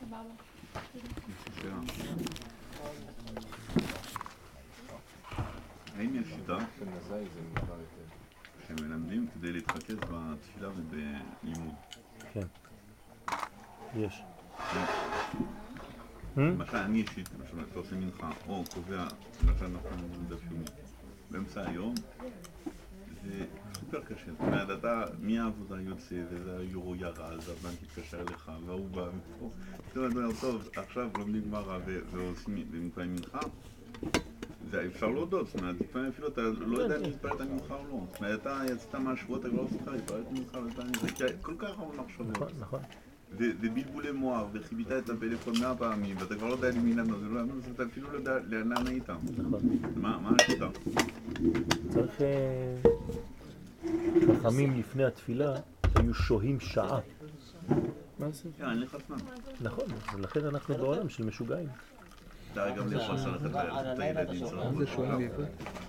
האם יש שיטה שמלמדים כדי להתרכז בתפילה ובלימוד? כן, יש. למשל אני אישית, למשל אתה עושה מנחה או קובע, למשל אנחנו דף יומי באמצע היום, זה סופר קשה. זאת אומרת, אתה מהעבודה יוצא וזה היורו ירד, והבנק יתקשר אליך והוא בא ופה. זאת אומרת, טוב, עכשיו לומדים גמרא ועושים ומקיים מנחה, זה אפשר להודות, זאת אומרת, לפעמים אפילו אתה לא יודע אם להתפלל את המנחה או לא. זאת אומרת, אתה יצאת מהשבוע, אתה כבר לא זוכר להתפלל את המנחה זה כל כך הרבה מחשבות. נכון. ובלבולי מוח, וחיבית את הפלאפון 100 פעמים, ואתה כבר לא יודע למי לענות, אתה אפילו לא יודע לאן היית. נכון. מה השיטה? צריך... חכמים לפני התפילה היו שוהים שעה. מה זה? אין לך זמן. נכון, לכן אנחנו בעולם של משוגעים. אתה גם יכול ללכת את הילדים שלנו. זה שוהים בעברית?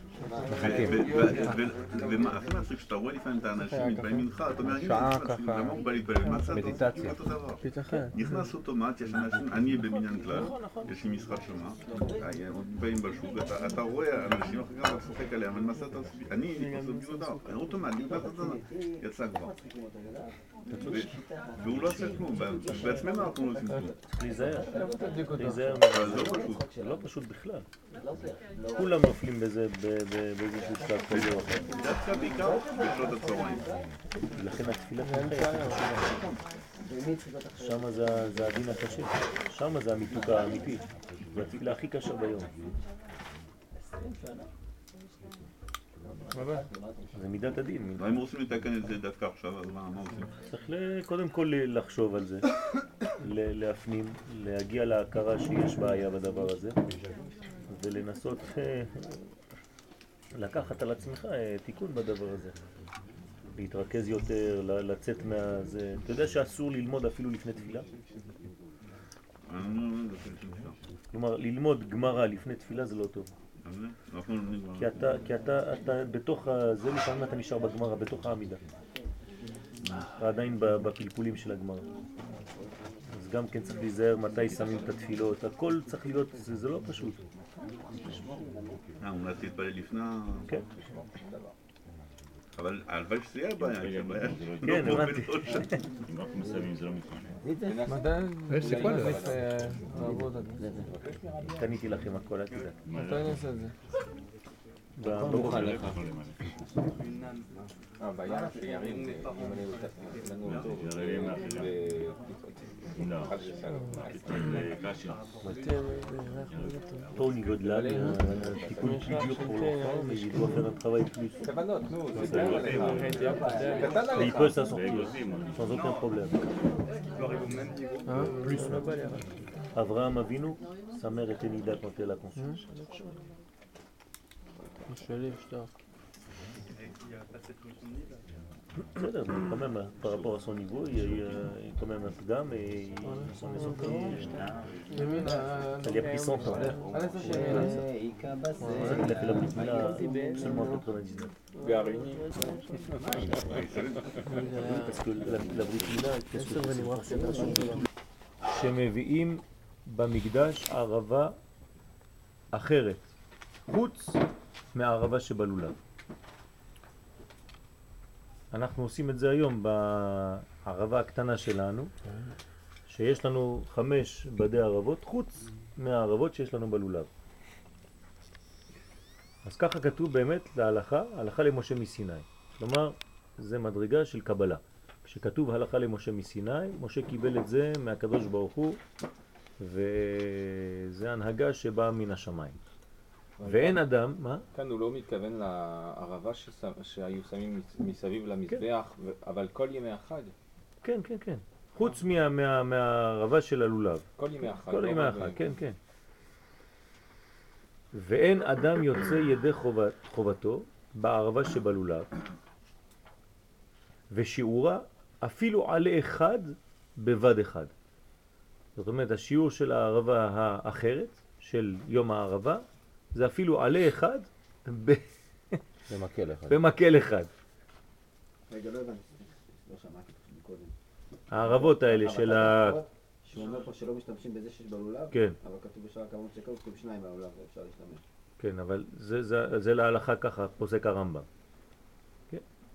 והכי מצחיק שאתה רואה לפעמים את האנשים מתפעלים ממך, אתה אומר, שעה ככה, למה הוא בא להתפעל? מה אתה מדיטציה. נכנס אוטומט, יש אנשים, אני בבניין כלל, יש לי משחק שמה, עוד באים בשוק, אתה רואה אנשים אחרי אתה צוחק עליהם, אבל למעשה אתה עושה, אני ביודע, אוטומט, יצא כבר. והוא לא עושה כלום, בעצמנו אנחנו לא עושים כלום. להיזהר. זה לא פשוט בכלל. כולם נופלים בזה באיזשהו שלב כזה או אחר. דווקא בעיקר בשעות הצהריים. לכן התפילה שם זה הדין הקשה. שם זה המיתוק האמיתי. זה התפילה הכי קשה ביום. זה מידת הדין. אם רוצים לתקן את זה דווקא עכשיו, אז מה עושים? צריך קודם כל לחשוב על זה, להפנים, להגיע להכרה שיש בעיה בדבר הזה, ולנסות לקחת על עצמך תיקון בדבר הזה. להתרכז יותר, לצאת מהזה. אתה יודע שאסור ללמוד אפילו לפני תפילה? כלומר, ללמוד גמרא לפני תפילה זה לא טוב. כי אתה בתוך זה, לפעמים אתה נשאר בגמרא, בתוך העמידה. עדיין בפלפולים של הגמרא. אז גם כן צריך להיזהר מתי שמים את התפילות. הכל צריך להיות, זה לא פשוט. אולי תתפלל לפני... כן. אבל הלוואי שזה יהיה הבעיה, כן, הבנתי. אם אנחנו מסיימים זה לא מתכונן. יש סיכוי קניתי לכם הכל, אל תדע. מתי נעשה את זה? ברוך עליך. הבעיה שירים לנו אותו Toi, au niveau de l'âme, un petit peu plus dur pour l'enfant, mais il doit faire un travail plus. Mais il peut s'en sortir, sans aucun problème. Plus. Avraham Avinu, sa mère était Nida quand elle a conçu. בסדר, quand même, par rapport à son niveau, il y a eu quand même un pgam et il s'en est sorti. Ça lui a pris 100 ans. Il a fait la Brit Mila seulement en 99. Parce que la Brit Mila, qu'est-ce que c'est? שמביאים במקדש ערבה אחרת, חוץ מהערבה שבלולב. אנחנו עושים את זה היום בערבה הקטנה שלנו, שיש לנו 5 בדי ערבות, חוץ מהערבות שיש לנו בלולב. אז ככה כתוב באמת להלכה, הלכה למשה מסיני. כלומר, זה מדרגה של קבלה. כשכתוב הלכה למשה מסיני, משה קיבל את זה מהקדוש ברוך הוא, וזה הנהגה שבאה מן השמיים. ואין אדם, מה? כאן הוא לא מתכוון לערבה שהיו שמים מסביב למזבח, אבל כל ימי החג. כן, כן, כן. חוץ מהערבה של הלולב. כל ימי החג. כל ימי החג, כן, כן. ואין אדם יוצא ידי חובתו בערבה שבלולב, ושיעורה אפילו עלה אחד בבד אחד. זאת אומרת, השיעור של הערבה האחרת, של יום הערבה, זה אפילו עלה אחד במקל אחד. רגע, לא הבנתי. לא שמעתי קודם. הערבות האלה של שהוא אומר פה שלא משתמשים בזה שיש בלולב, כן. אבל כתוב בשאר הכמות שקל, כתוב 2 בלולב ואפשר להשתמש. כן, אבל זה להלכה ככה, פוסק הרמב"ם. כן.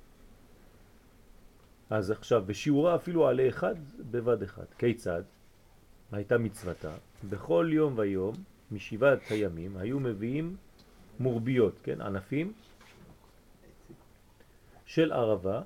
אז עכשיו, בשיעורה אפילו עלי אחד בבד אחד. כיצד? הייתה מצוותה. בכל יום ויום, משבעת הימים, היו מביאים מורביות, כן, ענפים של ערבה,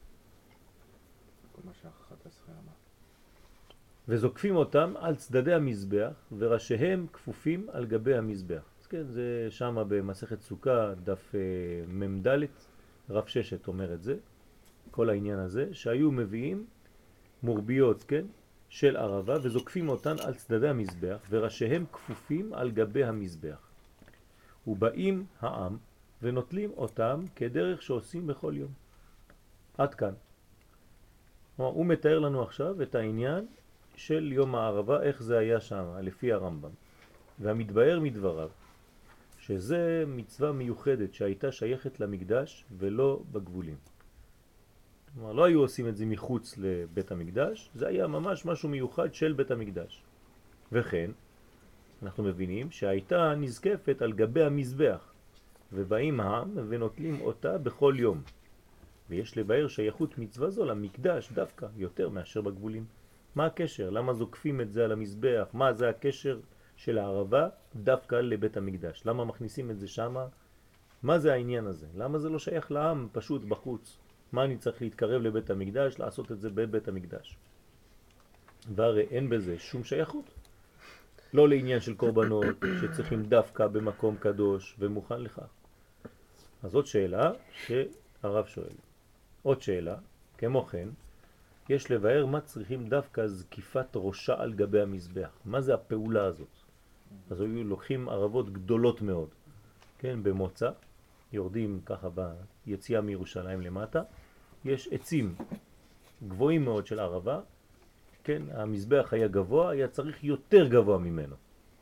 כל מה ש11 אמר. וזוקפים אותם על צדדי המזבח, וראשיהם כפופים על גבי המזבח. אז כן, זה שם במסכת סוכה, דף ממד' רב ששת אומר את זה, כל העניין הזה, שהיו מביאים מורביות, כן, של ערבה, וזוקפים אותן על צדדי המזבח, וראשיהם כפופים על גבי המזבח. ובאים העם ונוטלים אותם כדרך שעושים בכל יום. עד כאן. הוא מתאר לנו עכשיו את העניין של יום הערבה, איך זה היה שם, לפי הרמב"ם. והמתבאר מדבריו, שזה מצווה מיוחדת שהייתה שייכת למקדש ולא בגבולים. כלומר, לא היו עושים את זה מחוץ לבית המקדש, זה היה ממש משהו מיוחד של בית המקדש. וכן, אנחנו מבינים שהייתה נזקפת על גבי המזבח, ובאים העם ונוטלים אותה בכל יום. ויש לבאר שייכות מצווה זו למקדש דווקא יותר מאשר בגבולים. מה הקשר? למה זוקפים את זה על המזבח? מה זה הקשר של הערבה דווקא לבית המקדש? למה מכניסים את זה שמה? מה זה העניין הזה? למה זה לא שייך לעם פשוט בחוץ? מה אני צריך להתקרב לבית המקדש, לעשות את זה בבית המקדש? והרי אין בזה שום שייכות. לא לעניין של קורבנות שצריכים דווקא במקום קדוש ומוכן לכך. אז זאת שאלה שהרב שואל. עוד שאלה, כמו כן, יש לבאר מה צריכים דווקא זקיפת ראשה על גבי המזבח. מה זה הפעולה הזאת? אז היו לוקחים ערבות גדולות מאוד, כן, במוצא, יורדים ככה ביציאה מירושלים למטה, יש עצים גבוהים מאוד של ערבה, כן, המזבח היה גבוה, היה צריך יותר גבוה ממנו.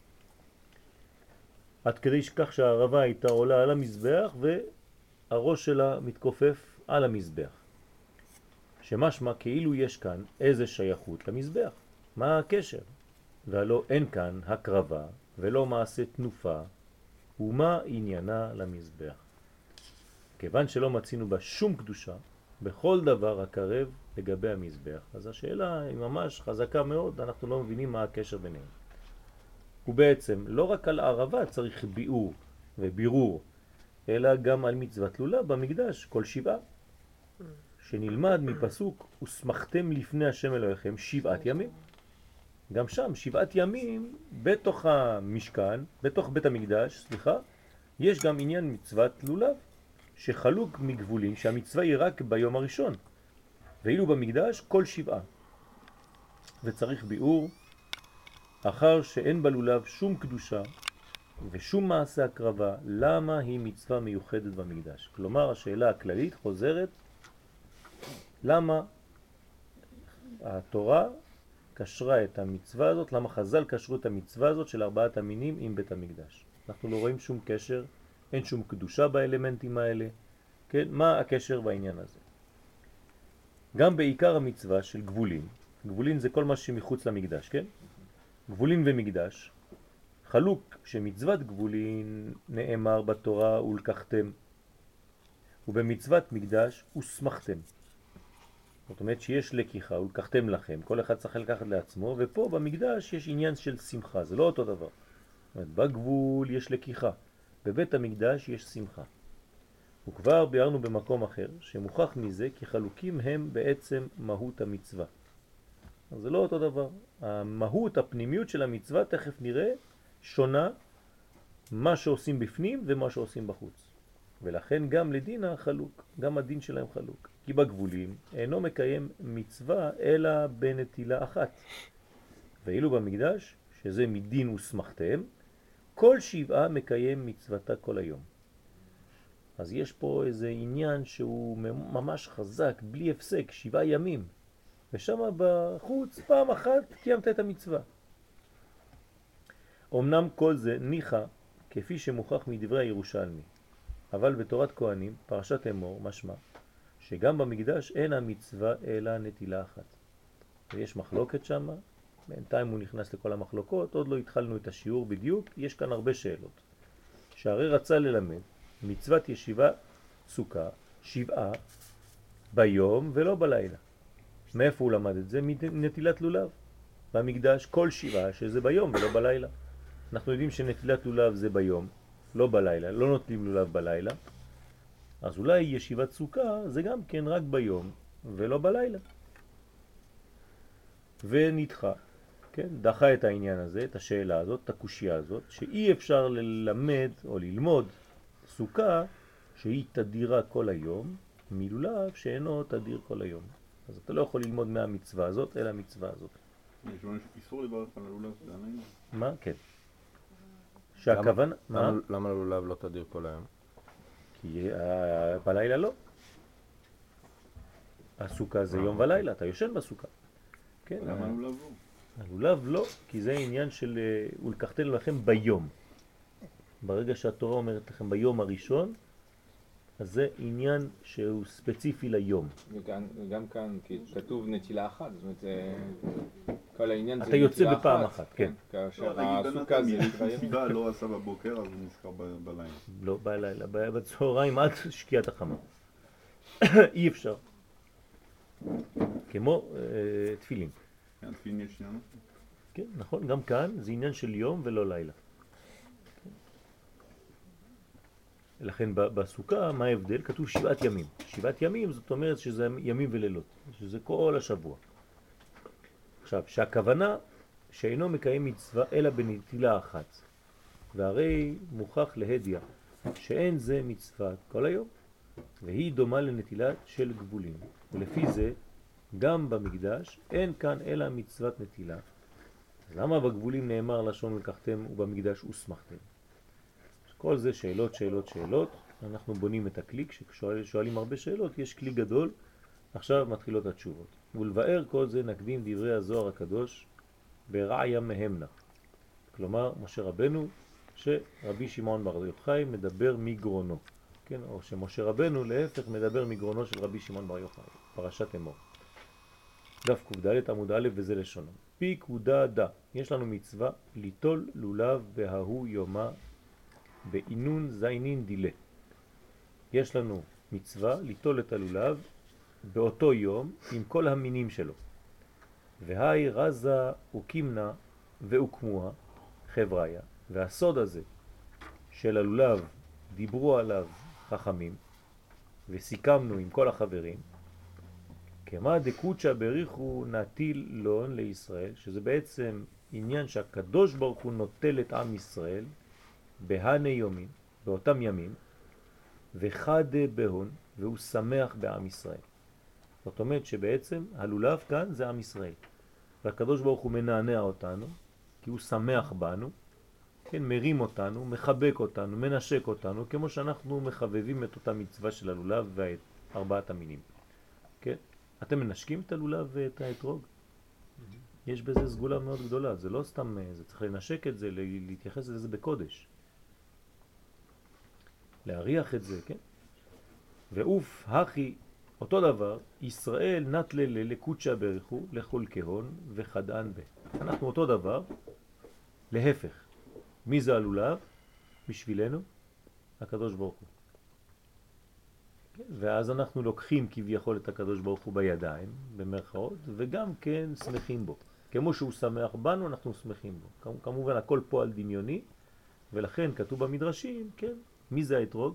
עד כדי שכך שהערבה הייתה עולה על המזבח והראש שלה מתכופף על המזבח. שמשמע כאילו יש כאן איזה שייכות למזבח. מה הקשר? והלא אין כאן הקרבה ולא מעשה תנופה, ומה עניינה למזבח? כיוון שלא מצינו בה שום קדושה, בכל דבר הקרב לגבי המזבח. אז השאלה היא ממש חזקה מאוד, אנחנו לא מבינים מה הקשר ביניהם. ובעצם לא רק על הערבה צריך ביאור ובירור, אלא גם על מצוות לולה במקדש כל שבעה. שנלמד מפסוק וסמכתם לפני השם אלוהיכם 7 ימים. גם שם 7 ימים בתוך המשכן, בתוך בית המקדש, סליחה, יש גם עניין מצוות לולב שחלוק מגבולים שהמצווה היא רק ביום הראשון, ואילו במקדש כל 7. וצריך ביאור אחר שאין בלולב שום קדושה ושום מעשה הקרבה, למה היא מצווה מיוחדת במקדש? כלומר השאלה הכללית חוזרת, למה התורה קשרה את המצווה הזאת, למה חז"ל קשרו את המצווה הזאת של 4 המינים עם בית המקדש? אנחנו לא רואים שום קשר, אין שום קדושה באלמנטים האלה, כן? מה הקשר בעניין הזה? גם בעיקר המצווה של גבולים, גבולים זה כל מה שמחוץ למקדש, כן? גבולים ומקדש, חלוק שמצוות גבולים נאמר בתורה ולקחתם, ובמצוות מקדש וסמכתם. זאת אומרת שיש לקיחה ולקחתם לכם, כל אחד צריך לקחת לעצמו, ופה במקדש יש עניין של שמחה, זה לא אותו דבר. זאת אומרת, בגבול יש לקיחה, בבית המקדש יש שמחה. וכבר ביארנו במקום אחר שמוכח מזה כי חלוקים הם בעצם מהות המצווה. אז זה לא אותו דבר. המהות, הפנימיות של המצווה, תכף נראה, שונה מה שעושים בפנים ומה שעושים בחוץ. ולכן גם לדין החלוק, גם הדין שלהם חלוק. כי בגבולים אינו מקיים מצווה אלא בנטילה אחת. ואילו במקדש, שזה מדין וסמכתם, כל 7 מקיים מצוותה כל היום. אז יש פה איזה עניין שהוא ממש חזק, בלי הפסק, 7 ימים. ושם בחוץ פעם אחת קיימת את המצווה. אמנם כל זה ניחא כפי שמוכח מדברי הירושלמי, אבל בתורת כהנים, פרשת אמור, משמע, שגם במקדש אין המצווה אלא נטילה אחת. ויש מחלוקת שם, בינתיים הוא נכנס לכל המחלוקות, עוד לא התחלנו את השיעור בדיוק, יש כאן הרבה שאלות. שהרי רצה ללמד מצוות ישיבה סוכה, 7 ביום ולא בלילה. מאיפה הוא למד את זה? מנטילת לולב. במקדש כל 7 שזה ביום ולא בלילה. אנחנו יודעים שנטילת לולב זה ביום, לא בלילה, לא נוטלים לולב בלילה. אז אולי ישיבת סוכה זה גם כן רק ביום ולא בלילה. ונדחה, כן? דחה את העניין הזה, את השאלה הזאת, את הקושיה הזאת, שאי אפשר ללמד או ללמוד סוכה שהיא תדירה כל היום, מלולב שאינו תדיר כל היום. אז אתה לא יכול ללמוד מהמצווה הזאת, אלא המצווה הזאת. יש לנו איסור לברך על הלולב, זה עלינו. מה? כן. שהכוונה... למה הלולב לא תדיר כל היום? כי בלילה לא. הסוכה זה יום ולילה, אתה יושן בסוכה. כן. למה הלולב לא? הלולב לא, כי זה עניין של ולקחתנו לכם ביום. ברגע שהתורה אומרת לכם ביום הראשון, אז זה עניין שהוא ספציפי ליום. וגם כאן, כי כתוב נטילה אחת, זאת אומרת, כל העניין זה אתה יוצא נטילה בפעם אחת. אחת, כן. כאשר הסוכה זה ישיבה לא עשה בבוקר, אז הוא נזכר בלילה. לא בלילה, בצהריים עד שקיעת החמה. אי אפשר. כמו תפילין. כן, תפילין יש שנייה. כן, נכון, גם כאן זה עניין של יום ולא לילה. לכן בסוכה, מה ההבדל? כתוב 7 ימים. 7 ימים זאת אומרת שזה ימים ולילות, שזה כל השבוע. עכשיו, שהכוונה שאינו מקיים מצווה אלא בנטילה אחת. והרי מוכח להדיה שאין זה מצווה כל היום, והיא דומה לנטילה של גבולים. ולפי זה, גם במקדש אין כאן אלא מצוות נטילה. אז למה בגבולים נאמר לשון לקחתם ובמקדש וסמכתם? כל זה שאלות, שאלות, שאלות. אנחנו בונים את הכלי, כששואלים הרבה שאלות, יש כלי גדול, עכשיו מתחילות התשובות. ולבאר כל זה נקדים דברי הזוהר הקדוש ברעיה מהמנה. כלומר, משה רבנו, שרבי שמעון בר יוחאי מדבר מגרונו. כן? או שמשה רבנו להפך מדבר מגרונו של רבי שמעון בר יוחאי. פרשת אמור. דף ק"ד עמוד א' וזה לשונו. פיקודה דה. יש לנו מצווה ליטול לולב בהוא יומה באינון זיינין דילה. יש לנו מצווה ליטול את הלולב באותו יום עם כל המינים שלו. והי רזה וקימנה והוקמוה חבריה. והסוד הזה של הלולב דיברו עליו חכמים וסיכמנו עם כל החברים כמה דקוצ'ה בריחו נטיל לון לישראל, שזה בעצם עניין שהקדוש ברוך הוא נוטל את עם ישראל בהני יומים, באותם ימים, וחד בהון, והוא שמח בעם ישראל. זאת אומרת שבעצם הלולב כאן זה עם ישראל. והקדוש ברוך הוא מנענע אותנו, כי הוא שמח בנו, כן, מרים אותנו, מחבק אותנו, מנשק אותנו, כמו שאנחנו מחבבים את אותה מצווה של הלולב ואת 4 המינים. כן? אתם מנשקים את הלולב ואת האתרוג? יש בזה סגולה מאוד גדולה, זה לא סתם, זה צריך לנשק את זה, להתייחס לזה בקודש. להריח את זה, כן? ואוף, הכי, אותו דבר, ישראל נטלה לקוצ'ה בריחו, לכל כהון וחדען בה. אנחנו אותו דבר, להפך. מי זה הלולב? בשבילנו, הקדוש ברוך הוא. ואז אנחנו לוקחים כביכול את הקדוש ברוך הוא בידיים, במרכאות, וגם כן שמחים בו. כמו שהוא שמח בנו, אנחנו שמחים בו. כמובן, הכל פועל דמיוני, ולכן כתוב במדרשים, כן, מי זה האתרוג?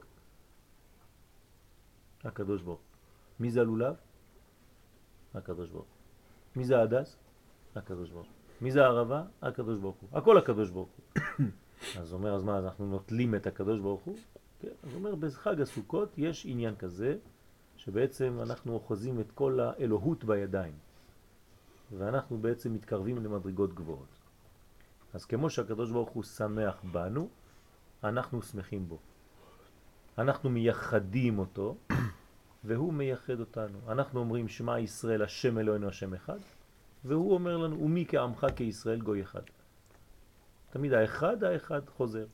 הקדוש ברוך הוא. מי זה הלולב? הקדוש ברוך הוא. מי זה ההדס? הקדוש ברוך הוא. מי זה הערבה? הקדוש ברוך הוא. הכל הקדוש ברוך הוא. אז אומר, אז מה, אנחנו נוטלים את הקדוש ברוך הוא? כן, אז אומר, בחג הסוכות יש עניין כזה, שבעצם אנחנו אוחזים את כל האלוהות בידיים. ואנחנו בעצם מתקרבים למדרגות גבוהות. אז כמו שהקדוש ברוך הוא שמח בנו, אנחנו שמחים בו. אנחנו מייחדים אותו, והוא מייחד אותנו. אנחנו אומרים שמע ישראל השם אלוהינו השם אחד, והוא אומר לנו ומי כעמך כישראל גוי אחד. תמיד האחד חוזר.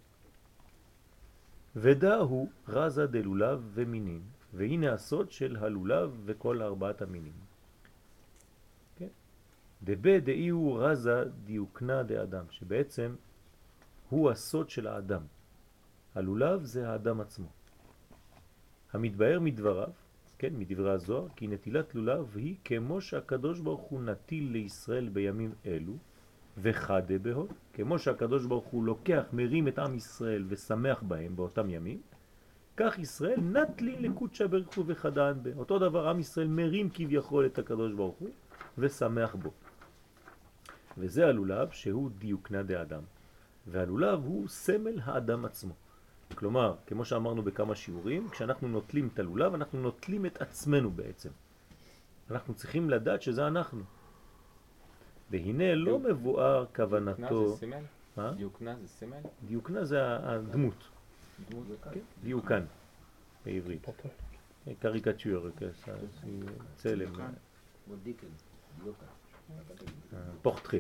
ודא הוא רזה דלולב ומינים, והנה הסוד של הלולב וכל 4 המינים. כן? דבה דאי הוא רזה דיוקנה דאדם, שבעצם הוא הסוד של האדם. הלולב זה האדם עצמו. המתבאר מדבריו, כן, מדברי הזוהר, כי נטילת לולב היא כמו שהקדוש ברוך הוא נטיל לישראל בימים אלו, וחדה בהוד, כמו שהקדוש ברוך הוא לוקח, מרים את עם ישראל ושמח בהם באותם ימים, כך ישראל נטלי לקודשא בריך הוא וחדן בה. אותו דבר עם ישראל מרים כביכול את הקדוש ברוך הוא ושמח בו. וזה הלולב שהוא דיוקנה דאדם. והלולב הוא סמל האדם עצמו. כלומר, כמו שאמרנו בכמה שיעורים, כשאנחנו נוטלים את הלולב, אנחנו נוטלים את עצמנו בעצם. אנחנו צריכים לדעת שזה אנחנו. והנה לא מבואר כוונתו... דיוקנה זה סימל? מה? דיוקנה זה סימל? דיוקנה זה הדמות. דמות זה כאן. דיוקן, בעברית. קריקטור, צלם. כמו דיקן, דיוקה. פורטרי.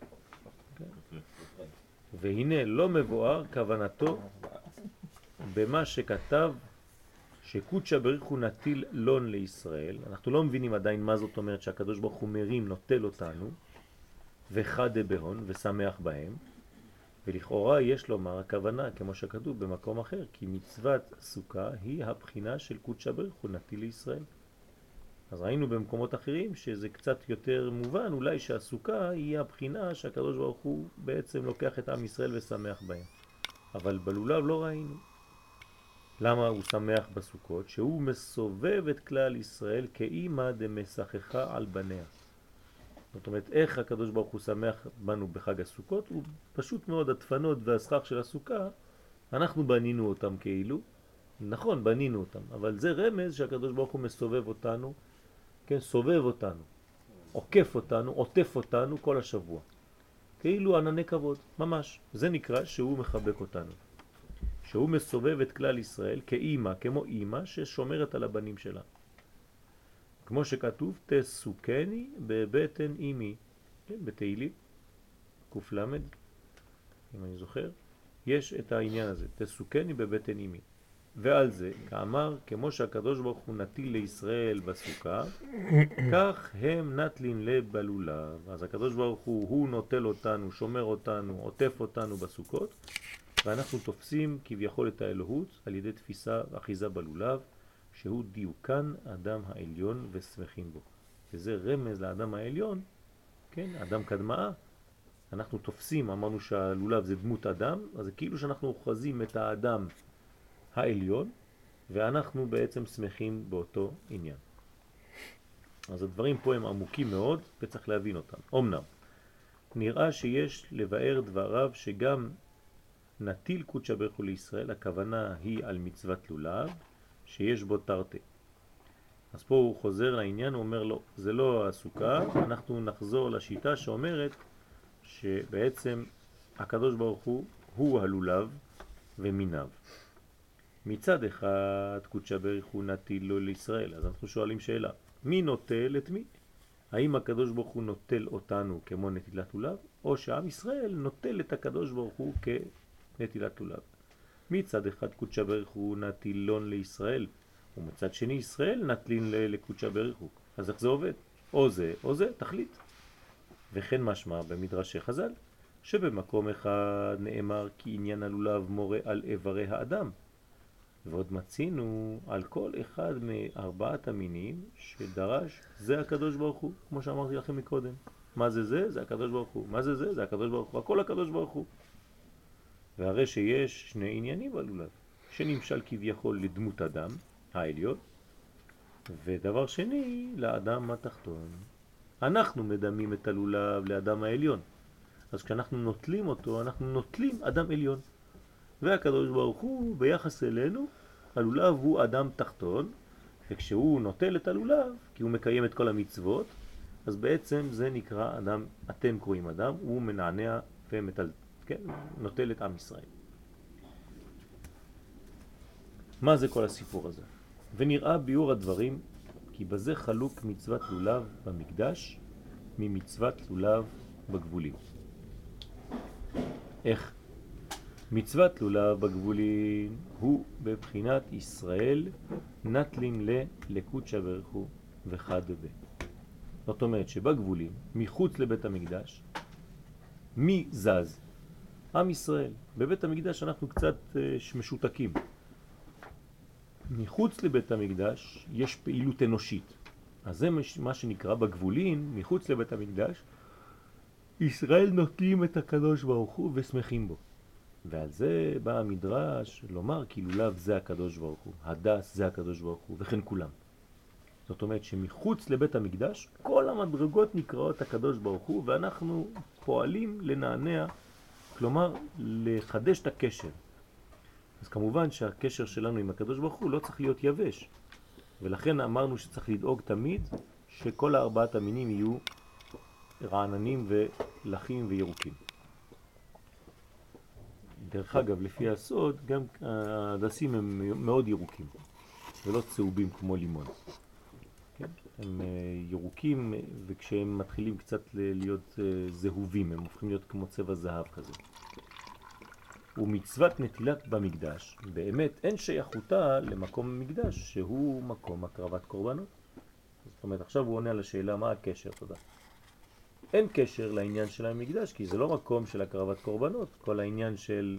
והנה לא מבואר כוונתו במה שכתב שקודשא בריך הוא נטיל לון לישראל. אנחנו לא מבינים עדיין מה זאת אומרת שהקדוש ברוך הוא מרים, נוטל אותנו, וחדה בהון ושמח בהם. ולכאורה יש לומר הכוונה, כמו שכתוב במקום אחר, כי מצוות סוכה היא הבחינה של קודשא בריך הוא נטיל לישראל. אז ראינו במקומות אחרים שזה קצת יותר מובן, אולי שהסוכה היא הבחינה שהקדוש ברוך הוא בעצם לוקח את עם ישראל ושמח בהם. אבל בלולב לא ראינו. למה הוא שמח בסוכות? שהוא מסובב את כלל ישראל כאימא דמשחכה על בניה. זאת אומרת, איך הקדוש ברוך הוא שמח בנו בחג הסוכות? הוא פשוט מאוד הדפנות והסכך של הסוכה, אנחנו בנינו אותם כאילו. נכון, בנינו אותם, אבל זה רמז שהקדוש ברוך הוא מסובב אותנו, כן, סובב אותנו, עוקף אותנו, עוטף אותנו כל השבוע. כאילו ענני כבוד, ממש. זה נקרא שהוא מחבק אותנו. שהוא מסובב את כלל ישראל כאימא, כמו אימא ששומרת על הבנים שלה. כמו שכתוב, תסוכני בבטן אימי, כן, בתהילים, קוף למד, אם אני זוכר, יש את העניין הזה, תסוכני בבטן אימי. ועל זה, כאמר, כמו שהקדוש ברוך הוא נטיל לישראל בסוכה, כך הם נטלין לבלולב. אז הקדוש ברוך הוא נוטל אותנו, שומר אותנו, עוטף אותנו בסוכות, ואנחנו תופסים כביכול את האלוהות על ידי תפיסה אחיזה בלולב, שהוא דיוקן אדם העליון ושמחים בו. וזה רמז לאדם העליון, כן, אדם קדמאה. אנחנו תופסים, אמרנו שהלולב זה דמות אדם, אז זה כאילו שאנחנו אוחזים את האדם העליון, ואנחנו בעצם שמחים באותו עניין. אז הדברים פה הם עמוקים מאוד, וצריך להבין אותם. אמנם, נראה שיש לבאר דבריו שגם נטיל קודשא בריך הוא לישראל, הכוונה היא על מצוות לולב, שיש בו תרתי. אז פה הוא חוזר לעניין, הוא אומר לו, זה לא הסוכה, אנחנו נחזור לשיטה שאומרת שבעצם הקדוש ברוך הוא הלולב ומיניו. מצד אחד קודשא בריך הוא נטיל לו לישראל, אז אנחנו שואלים שאלה, מי נוטל את מי? האם הקדוש ברוך הוא נוטל אותנו כמו נטילת לולב, או שעם ישראל נוטל את הקדוש ברוך הוא כנטילת לולב? מצד אחד קודשא בריך הוא נטילון לישראל, ומצד שני ישראל נטלין לקודשא בריך הוא. אז איך זה עובד? או זה או זה, תחליט. וכן משמע במדרשי חז"ל, שבמקום אחד נאמר כי עניין הלולב מורה על איברי האדם, ועוד מצינו על כל אחד מארבעת המינים שדרש זה הקדוש ברוך הוא, כמו שאמרתי לכם מקודם. מה זה זה? זה הקדוש ברוך הוא. מה זה זה? זה הקדוש ברוך הוא. הכל הקדוש ברוך הוא. והרי שיש שני עניינים בלולב, שנמשל כביכול לדמות אדם העליון, ודבר שני לאדם התחתון. אנחנו מדמים את הלולב לאדם העליון, אז כשאנחנו נוטלים אותו אנחנו נוטלים אדם עליון, והקדוש ברוך הוא ביחס אלינו הלולב הוא אדם תחתון, וכשהוא נוטל את הלולב כי הוא מקיים את כל המצוות, אז בעצם זה נקרא אדם, אתם קוראים אדם, הוא מנענע ומטל, כן, נוטל את עם ישראל. מה זה כל הסיפור הזה? ונראה ביור הדברים כי בזה חלוק מצוות לולב במקדש ממצוות לולב בגבולים. איך? מצוות לולב בגבולים הוא בבחינת ישראל נטלין לקודשא בריך הוא וחד בה. זאת אומרת שבגבולים, מחוץ לבית המקדש, מי זז? עם ישראל. בבית המקדש אנחנו קצת משותקים. מחוץ לבית המקדש יש פעילות אנושית. אז זה מה שנקרא בגבולים, מחוץ לבית המקדש, ישראל נוטלים את הקדוש ברוך הוא ושמחים בו. ועל זה בא המדרש לומר כי לולב זה הקדוש ברוך הוא, הדס זה הקדוש ברוך הוא, וכן כולם. זאת אומרת שמחוץ לבית המקדש כל המדרגות נקראות הקדוש ברוך הוא, ואנחנו פועלים לנענע, כלומר לחדש את הקשר. אז כמובן שהקשר שלנו עם הקדוש ברוך הוא לא צריך להיות יבש, ולכן אמרנו שצריך לדאוג תמיד שכל הארבעת המינים יהיו רעננים ולחים וירוקים. דרך אגב, לפי הסוד, גם הדסים הם מאוד ירוקים, ולא צהובים כמו לימון. כן? הם ירוקים, וכשהם מתחילים קצת להיות זהובים, הם הופכים להיות כמו צבע זהב כזה. ומצוות נטילת במקדש, באמת אין שייכותה למקום המקדש, שהוא מקום הקרבת קורבנות. זאת אומרת, עכשיו הוא עונה על השאלה מה הקשר, תודה. אין קשר לעניין של המקדש, כי זה לא מקום של הקרבת קורבנות, כל העניין של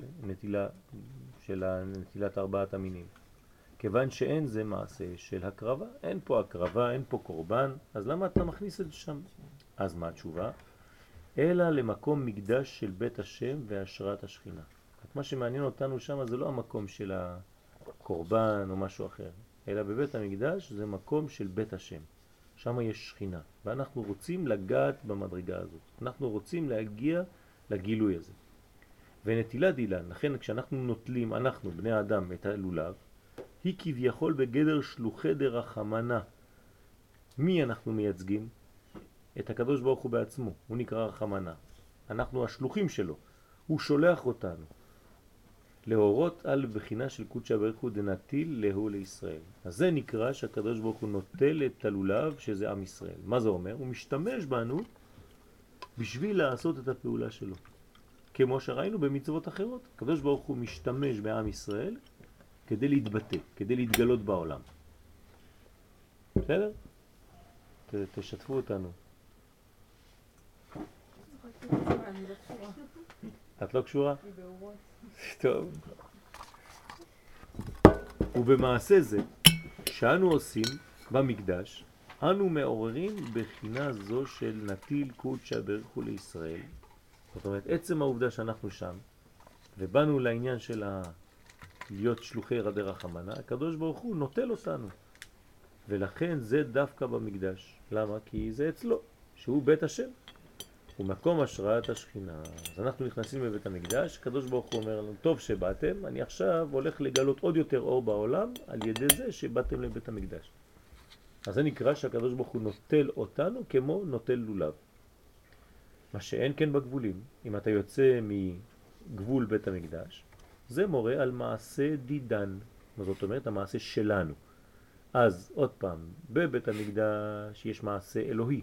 נטילת ארבעת המינים. כיוון שאין זה מעשה של הקרבה, אין פה הקרבה, אין פה קורבן, אז למה אתה מכניס את זה שם? אז מה התשובה? אלא למקום מקדש של בית השם והשראת השכינה. מה שמעניין אותנו שם זה לא המקום של הקורבן או משהו אחר, אלא בבית המקדש זה מקום של בית השם. שם יש שכינה, ואנחנו רוצים לגעת במדרגה הזאת. אנחנו רוצים להגיע לגילוי הזה. ונטילת אילן, לכן כשאנחנו נוטלים, אנחנו בני האדם, את הלולב, היא כביכול בגדר שלוחי דרחמנה. מי אנחנו מייצגים? את הקדוש ברוך הוא בעצמו, הוא נקרא רחמנה. אנחנו השלוחים שלו, הוא שולח אותנו. להורות על בחינה של קודשא בריך הוא דנטיל להו לישראל. אז זה נקרא שהקדוש ברוך הוא נוטל את הלולב שזה עם ישראל. מה זה אומר? הוא משתמש בנו בשביל לעשות את הפעולה שלו. כמו שראינו במצוות אחרות. הקדוש ברוך הוא משתמש בעם ישראל כדי להתבטא, כדי להתגלות בעולם. בסדר? תשתפו אותנו. את לא קשורה? טוב. ובמעשה זה שאנו עושים במקדש, אנו מעוררים בחינה זו של נטיל קודשא בריך הוא לישראל. זאת אומרת, עצם העובדה שאנחנו שם, ובאנו לעניין של להיות שלוחי רדי רחמנה, הקדוש ברוך הוא נוטל אותנו. ולכן זה דווקא במקדש. למה? כי זה אצלו, שהוא בית השם. הוא מקום השראת השכינה. אז אנחנו נכנסים בבית המקדש, הקדוש ברוך הוא אומר לנו, טוב שבאתם, אני עכשיו הולך לגלות עוד יותר אור בעולם על ידי זה שבאתם לבית המקדש. אז זה נקרא שהקדוש ברוך הוא נוטל אותנו כמו נוטל לולב. מה שאין כן בגבולים. אם אתה יוצא מגבול בית המקדש, זה מורה על מעשה דידן. זאת אומרת, המעשה שלנו. אז עוד פעם, בבית המקדש יש מעשה אלוהי.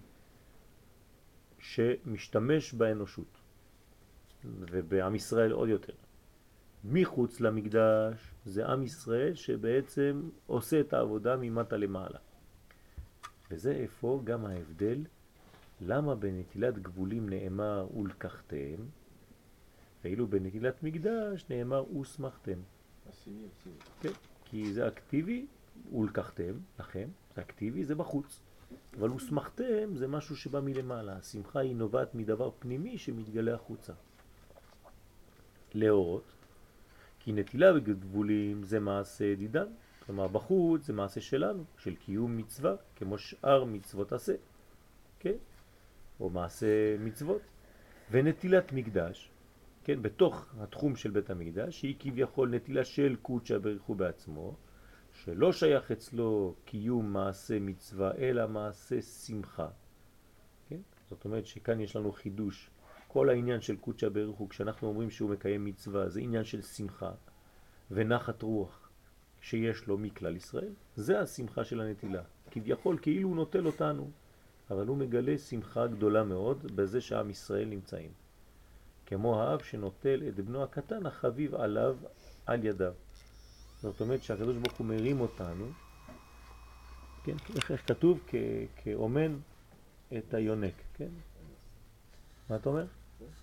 שמשתמש באנושות, ובעם ישראל עוד יותר. מחוץ למקדש זה עם ישראל שבעצם עושה את העבודה ממטה למעלה. וזה איפה גם ההבדל, למה בנטילת גבולים נאמר ולקחתם, ואילו בנטילת מקדש נאמר וסמכתם. כן, כי זה אקטיבי, ולקחתם, לכם, זה אקטיבי, זה בחוץ. אבל וסמכתם זה משהו שבא מלמעלה. השמחה היא נובעת מדבר פנימי שמתגלה החוצה. להורות, כי נטילה בגבולים זה מעשה דידן. כלומר בחוץ זה מעשה שלנו, של קיום מצווה, כמו שאר מצוות עשה. כן? או מעשה מצוות. ונטילת מקדש, כן? בתוך התחום של בית המקדש, שהיא כביכול נטילה של קודשא בריך הוא בעצמו, שלא שייך אצלו קיום מעשה מצווה, אלא מעשה שמחה. כן? זאת אומרת שכאן יש לנו חידוש. כל העניין של קודשא בריך הוא, כשאנחנו אומרים שהוא מקיים מצווה, זה עניין של שמחה ונחת רוח שיש לו מכלל ישראל. זה השמחה של הנטילה. כביכול כאילו הוא נוטל אותנו, אבל הוא מגלה שמחה גדולה מאוד בזה שעם ישראל נמצאים. כמו האב שנוטל את בנו הקטן החביב עליו על ידיו. זאת אומרת שהקדוש ברוך הוא מרים אותנו, כן, איך כתוב? כאומן את היונק, כן? מה אתה אומר?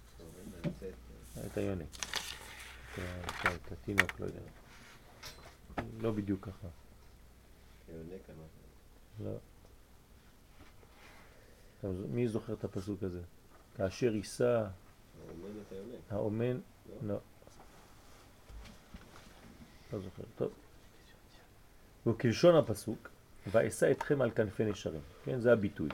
את היונק. את התינוק, לא יודע. לא בדיוק ככה. היונק אמרת. לא. מי זוכר את הפסוק הזה? כאשר יישא האומן את היונק. האומן, לא. לא זוכר, טוב. וכלשון הפסוק, ואשא אתכם על כנפי נשרים. כן, זה הביטוי.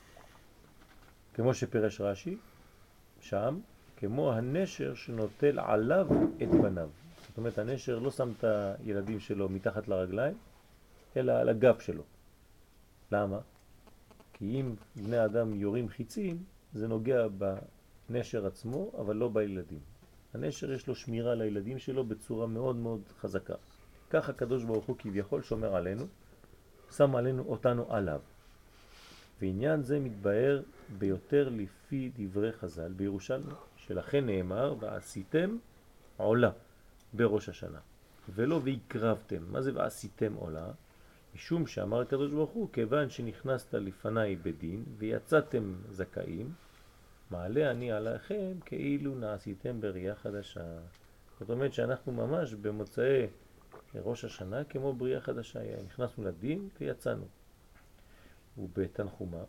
כמו שפרש רש"י, שם, כמו הנשר שנוטל עליו את בניו. זאת אומרת, הנשר לא שם את הילדים שלו מתחת לרגליים, אלא על הגב שלו. למה? כי אם בני אדם יורים חיצים, זה נוגע בנשר עצמו, אבל לא בילדים. הנשר יש לו שמירה לילדים שלו בצורה מאוד מאוד חזקה. כך הקדוש ברוך הוא כביכול שומר עלינו, שם עלינו אותנו עליו. ועניין זה מתבהר ביותר לפי דברי חז"ל בירושלמי, שלכן נאמר ועשיתם עולה בראש השנה, ולא והקרבתם. מה זה ועשיתם עולה? משום שאמר הקדוש ברוך הוא, כיוון שנכנסת לפניי בדין ויצאתם זכאים, מעלה אני עליכם כאילו נעשיתם בריאה חדשה. זאת אומרת שאנחנו ממש במוצאי ראש השנה כמו בריאה חדשה, נכנסנו לדין ויצאנו. ובתנחומה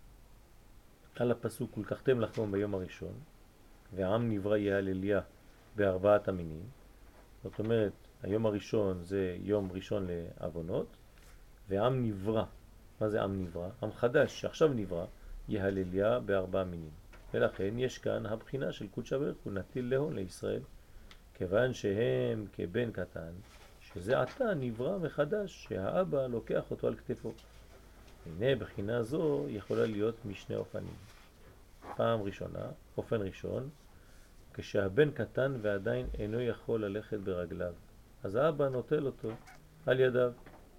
על הפסוק ולקחתם לחום ביום הראשון ועם נברא יהלליה בארבעת המינים. זאת אומרת היום הראשון זה יום ראשון לעוונות, ועם נברא, מה זה עם נברא? עם חדש שעכשיו נברא, יהלליה בארבע מינים. ולכן יש כאן הבחינה של קודש בריך הוא נטיל להון לישראל, כיוון שהם כבן קטן שזה עתה נברא מחדש שהאבא לוקח אותו על כתפו. הנה בחינה זו יכולה להיות משני אופנים. פעם ראשונה, אופן ראשון, כשהבן קטן ועדיין אינו יכול ללכת ברגליו, אז האבא נוטל אותו על ידיו.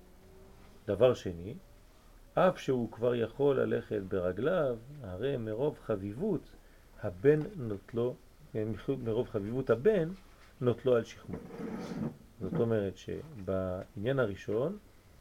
דבר שני, אף שהוא כבר יכול ללכת ברגליו, הרי מרוב חביבות הבן נוטלו, מרוב חביבות הבן נוטלו על שכמו. זאת אומרת שבעניין הראשון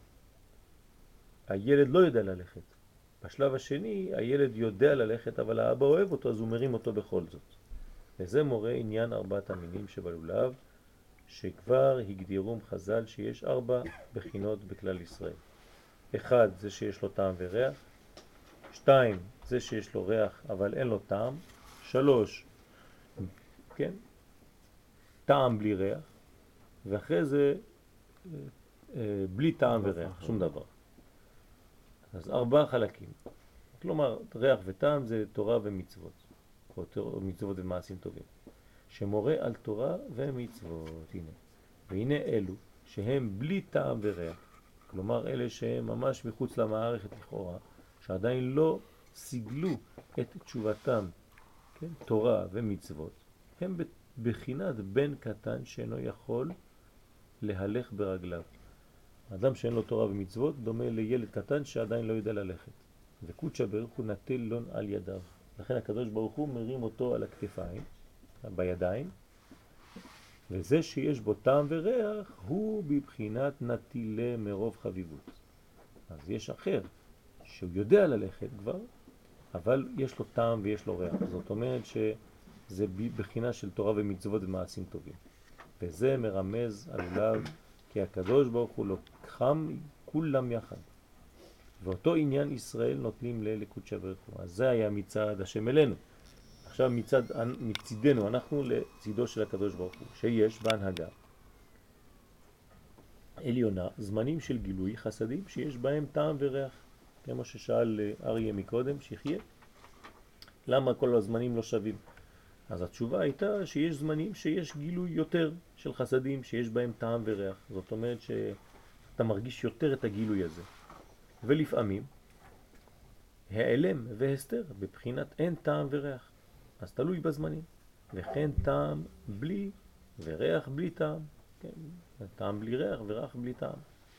הילד לא יודע ללכת. בשלב השני הילד יודע ללכת, אבל האבא אוהב אותו, אז הוא מרים אותו בכל זאת. וזה מורה עניין ארבעת המינים שבלולב, שכבר הגדירום חז"ל שיש 4 בחינות בכלל ישראל. 1 זה שיש לו טעם וריח, 2 זה שיש לו ריח אבל אין לו טעם, 3 כן, טעם בלי ריח, ואחרי זה בלי טעם וריח, שום דבר. אז 4 חלקים. כלומר, ריח וטעם זה תורה ומצוות, או מצוות ומעשים טובים, שמורה על תורה ומצוות. הנה. והנה אלו שהם בלי טעם וריח, כלומר אלה שהם ממש מחוץ למערכת לכאורה, שעדיין לא סיגלו את תשובתם, כן? תורה ומצוות, הם בחינת בן קטן שאינו יכול להלך ברגליו. אדם שאין לו תורה ומצוות דומה לילד קטן שעדיין לא יודע ללכת. וקודש בריך הוא נטל לון על ידיו. לכן הקדוש ברוך הוא מרים אותו על הכתפיים, בידיים, וזה שיש בו טעם וריח הוא בבחינת נטילה מרוב חביבות. אז יש אחר שהוא יודע ללכת כבר, אבל יש לו טעם ויש לו ריח. זאת אומרת שזה בבחינה של תורה ומצוות ומעשים טובים. וזה מרמז עליו כי הקדוש ברוך הוא לוקחם כולם יחד. ואותו עניין ישראל נוטלים לקודש בריך הוא. אז זה היה מצד השם אלינו. עכשיו מצידנו אנחנו לצידו של הקדוש ברוך הוא, שיש בהנהגה עליונה זמנים של גילוי חסדים שיש בהם טעם וריח. כמו ששאל אריה מקודם, שיחיה, למה כל הזמנים לא שווים? אז התשובה הייתה שיש זמנים שיש גילוי יותר של חסדים שיש בהם טעם וריח. זאת אומרת שאתה מרגיש יותר את הגילוי הזה. ולפעמים העלם והסתר בבחינת אין טעם וריח. אז תלוי בזמנים. וכן טעם בלי וריח בלי טעם. כן, טעם בלי ריח וריח בלי טעם.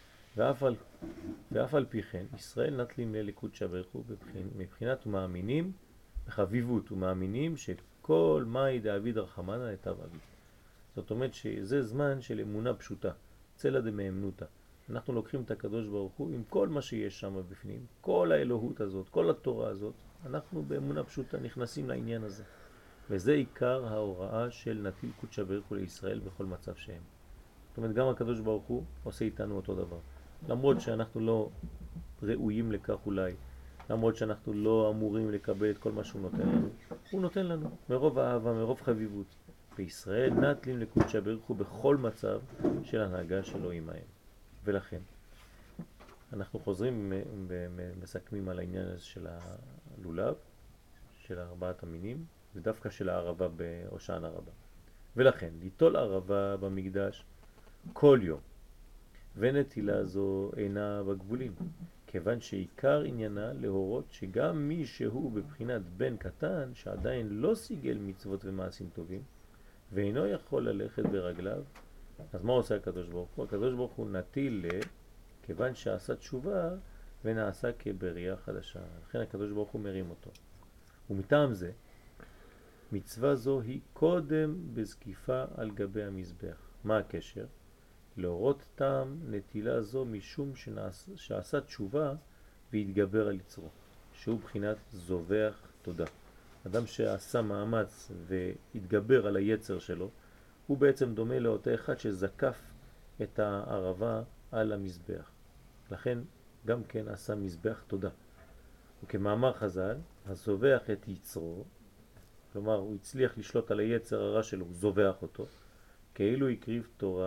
ואף על פי כן ישראל נטלים לקודש בריך הוא מבחינת ומאמינים בחביבות ומאמינים שכל מאי דאביד רחמנא היטב אביד. זאת אומרת שזה זמן של אמונה פשוטה, צלע דמאמנותא. אנחנו לוקחים את הקדוש ברוך הוא עם כל מה שיש שם בפנים, כל האלוהות הזאת, כל התורה הזאת, אנחנו באמונה פשוטה נכנסים לעניין הזה. וזה עיקר ההוראה של נטיל קודשא בריך הוא לישראל בכל מצב שהם. זאת אומרת, גם הקדוש ברוך הוא עושה איתנו אותו דבר. למרות שאנחנו לא ראויים לכך אולי, למרות שאנחנו לא אמורים לקבל את כל מה שהוא נותן לנו, הוא נותן לנו מרוב אהבה, מרוב חביבות. בישראל נטלים לקודשא בריך הוא בכל מצב של הנהגה שלו עמהם. ולכן, אנחנו חוזרים ומסכמים על העניין הזה של הלולב, של ארבעת המינים, ודווקא של הערבה בהושענא רבה. ולכן, ליטול ערבה במקדש כל יום, ונטילה זו אינה בגבולים, כיוון שעיקר עניינה להורות שגם מי שהוא בבחינת בן קטן, שעדיין לא סיגל מצוות ומעשים טובים, ואינו יכול ללכת ברגליו, אז מה עושה הקדוש ברוך הוא? הקדוש ברוך הוא נטיל כיוון שעשה תשובה ונעשה כבריאה חדשה. לכן הקדוש ברוך הוא מרים אותו. ומטעם זה, מצווה זו היא קודם בזקיפה על גבי המזבח. מה הקשר? להורות טעם נטילה זו משום שעשה תשובה והתגבר על יצרו, שהוא בחינת זובח תודה. אדם שעשה מאמץ והתגבר על היצר שלו, הוא בעצם דומה לאותו אחד שזקף את הערבה על המזבח. לכן גם כן עשה מזבח תודה. וכמאמר חז"ל, הזובח את יצרו, כלומר הוא הצליח לשלוט על היצר הרע שלו, הוא זובח אותו, כאילו הקריב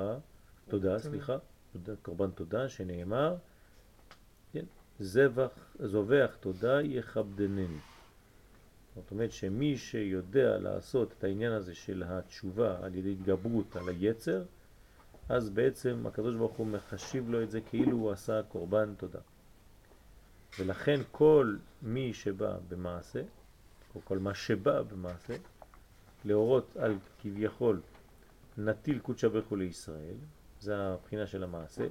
קורבן תודה, שנאמר, כן, זובח תודה יכבדנני. זאת אומרת שמי שיודע לעשות את העניין הזה של התשובה על ידי התגברות על היצר, אז בעצם הקדוש ברוך הוא מחשיב לו את זה כאילו הוא עשה קורבן תודה. ולכן כל מי שבא במעשה, או כל מה שבא במעשה, להורות על כביכול נטיל קודשא בריך הוא לישראל, זה הבחינה של המעשה,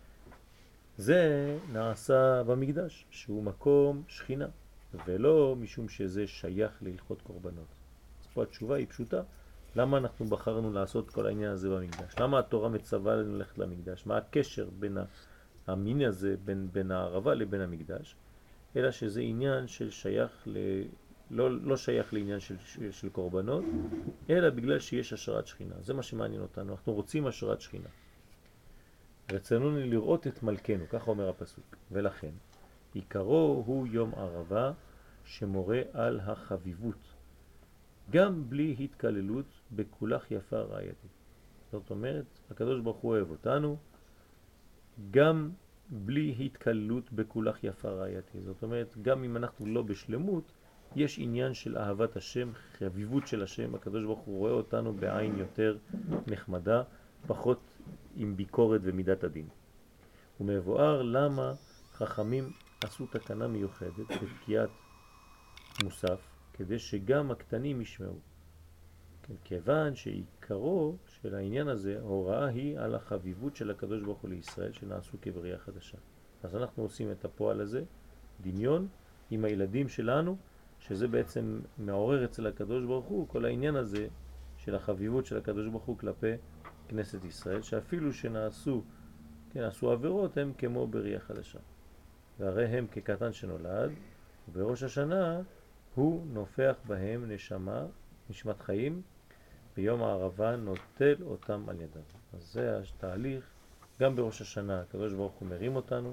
זה נעשה במקדש, שהוא מקום שכינה, ולא משום שזה שייך להלכות קורבנות. אז פה התשובה היא פשוטה, למה אנחנו בחרנו לעשות כל העניין הזה במקדש? למה התורה מצווה לנו ללכת למקדש? מה הקשר בין המין הזה, בין הערבה לבין המקדש? אלא שזה עניין של שייך לא שייך לעניין של קורבנות, אלא בגלל שיש השראת שכינה. זה מה שמעניין אותנו, אנחנו רוצים השראת שכינה. רצינו לראות את מלכנו, כך אומר הפסוק. ולכן, עיקרו הוא יום ערבה שמורה על החביבות, גם בלי התקללות בכולך יפה רעייתי. זאת אומרת, הקדוש ברוך הוא אוהב אותנו, גם בלי התקללות בכולך יפה רעייתי. זאת אומרת, גם אם אנחנו לא בשלמות, יש עניין של אהבת השם, חביבות של השם. הקדוש ברוך הוא רואה אותנו בעין יותר נחמדה, פחות עם ביקורת ומידת הדין. ומבואר למה חכמים עשו תקנה מיוחדת בתקיעת מוסף, כדי שגם הקטנים ישמעו. כן, כיוון שעיקרו של העניין הזה, הוראה היא על החביבות של הקדוש ברוך הוא לישראל, שנעשו כבריאה חדשה. אז אנחנו עושים את הפועל הזה, דמיון, עם הילדים שלנו, שזה בעצם מעורר אצל הקדוש ברוך הוא, כל העניין הזה של החביבות של הקדוש ברוך הוא כלפי כנסת ישראל, שאפילו שנעשו, כן, עשו עבירות, הם כמו בריאה חדשה. והרי הם כקטן שנולד, ובראש השנה הוא נופח בהם נשמת חיים, ביום הערבה נוטל אותם על ידם. אז זה התהליך, גם בראש השנה הקדוש ברוך הוא מרים אותנו,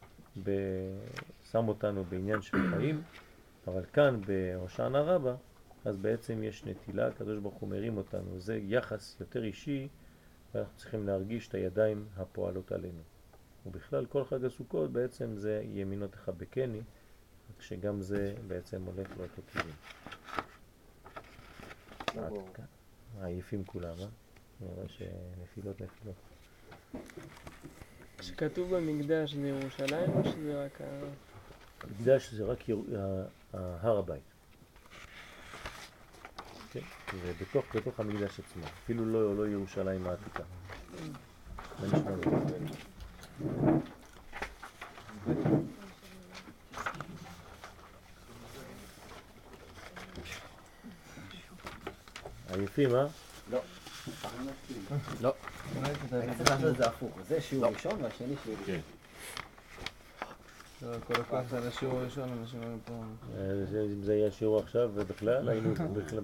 שם אותנו בעניין של חיים, אבל כאן בהושענא רבה, אז בעצם יש נטילה, הקדוש ברוך הוא מרים אותנו, זה יחס יותר אישי, ואנחנו צריכים להרגיש את הידיים הפועלות עלינו. ובכלל כל חג הסוכות בעצם זה ימינו תחבקני, שגם זה בעצם הולך לאותו כיוון. עייפים כולם, נראה שנפילות. כשכתוב במקדש זה ירושלים או שזה רק המקדש זה רק הר הבית. כן, זה בתוך המקדש עצמו, אפילו לא ירושלים העתיקה. מה נשמע לו? עייפים, אה? לא. לא. צריך לעשות את זה הפוך. זה שיעור ראשון והשני שיעור ראשון. כל הכוח זה על השיעור הראשון, אנשים היו פה. אם זה היה שיעור עכשיו ובכלל, היינו בכלל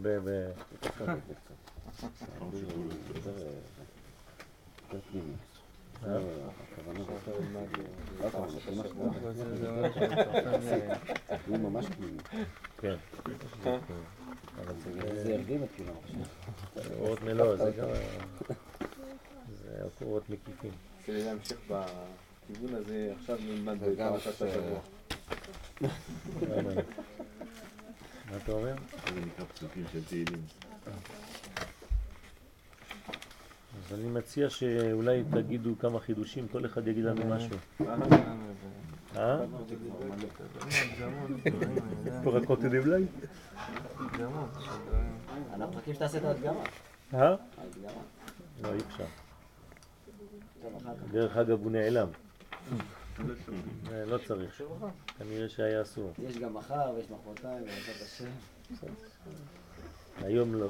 הוא ממש פנימי. כן. זה הרדים את כולם. אורות מלוא, זה גם... זה אורות מקיפים. כדי להמשיך בכיוון הזה, עכשיו נלמד בפרשת השבוע. מה אתה אומר? זה נקרא פסוקים של תהילים. אז אני מציע שאולי תגידו כמה חידושים, כל אחד יגיד לנו משהו. פה רק עוד תדעים לי? אנחנו מחכים שתעשה את ההדגמה. לא, אי אפשר. דרך אגב הוא נעלם. לא צריך. כנראה שהיה אסור. יש גם מחר ויש מחרתיים, בעזרת השם. היום לא.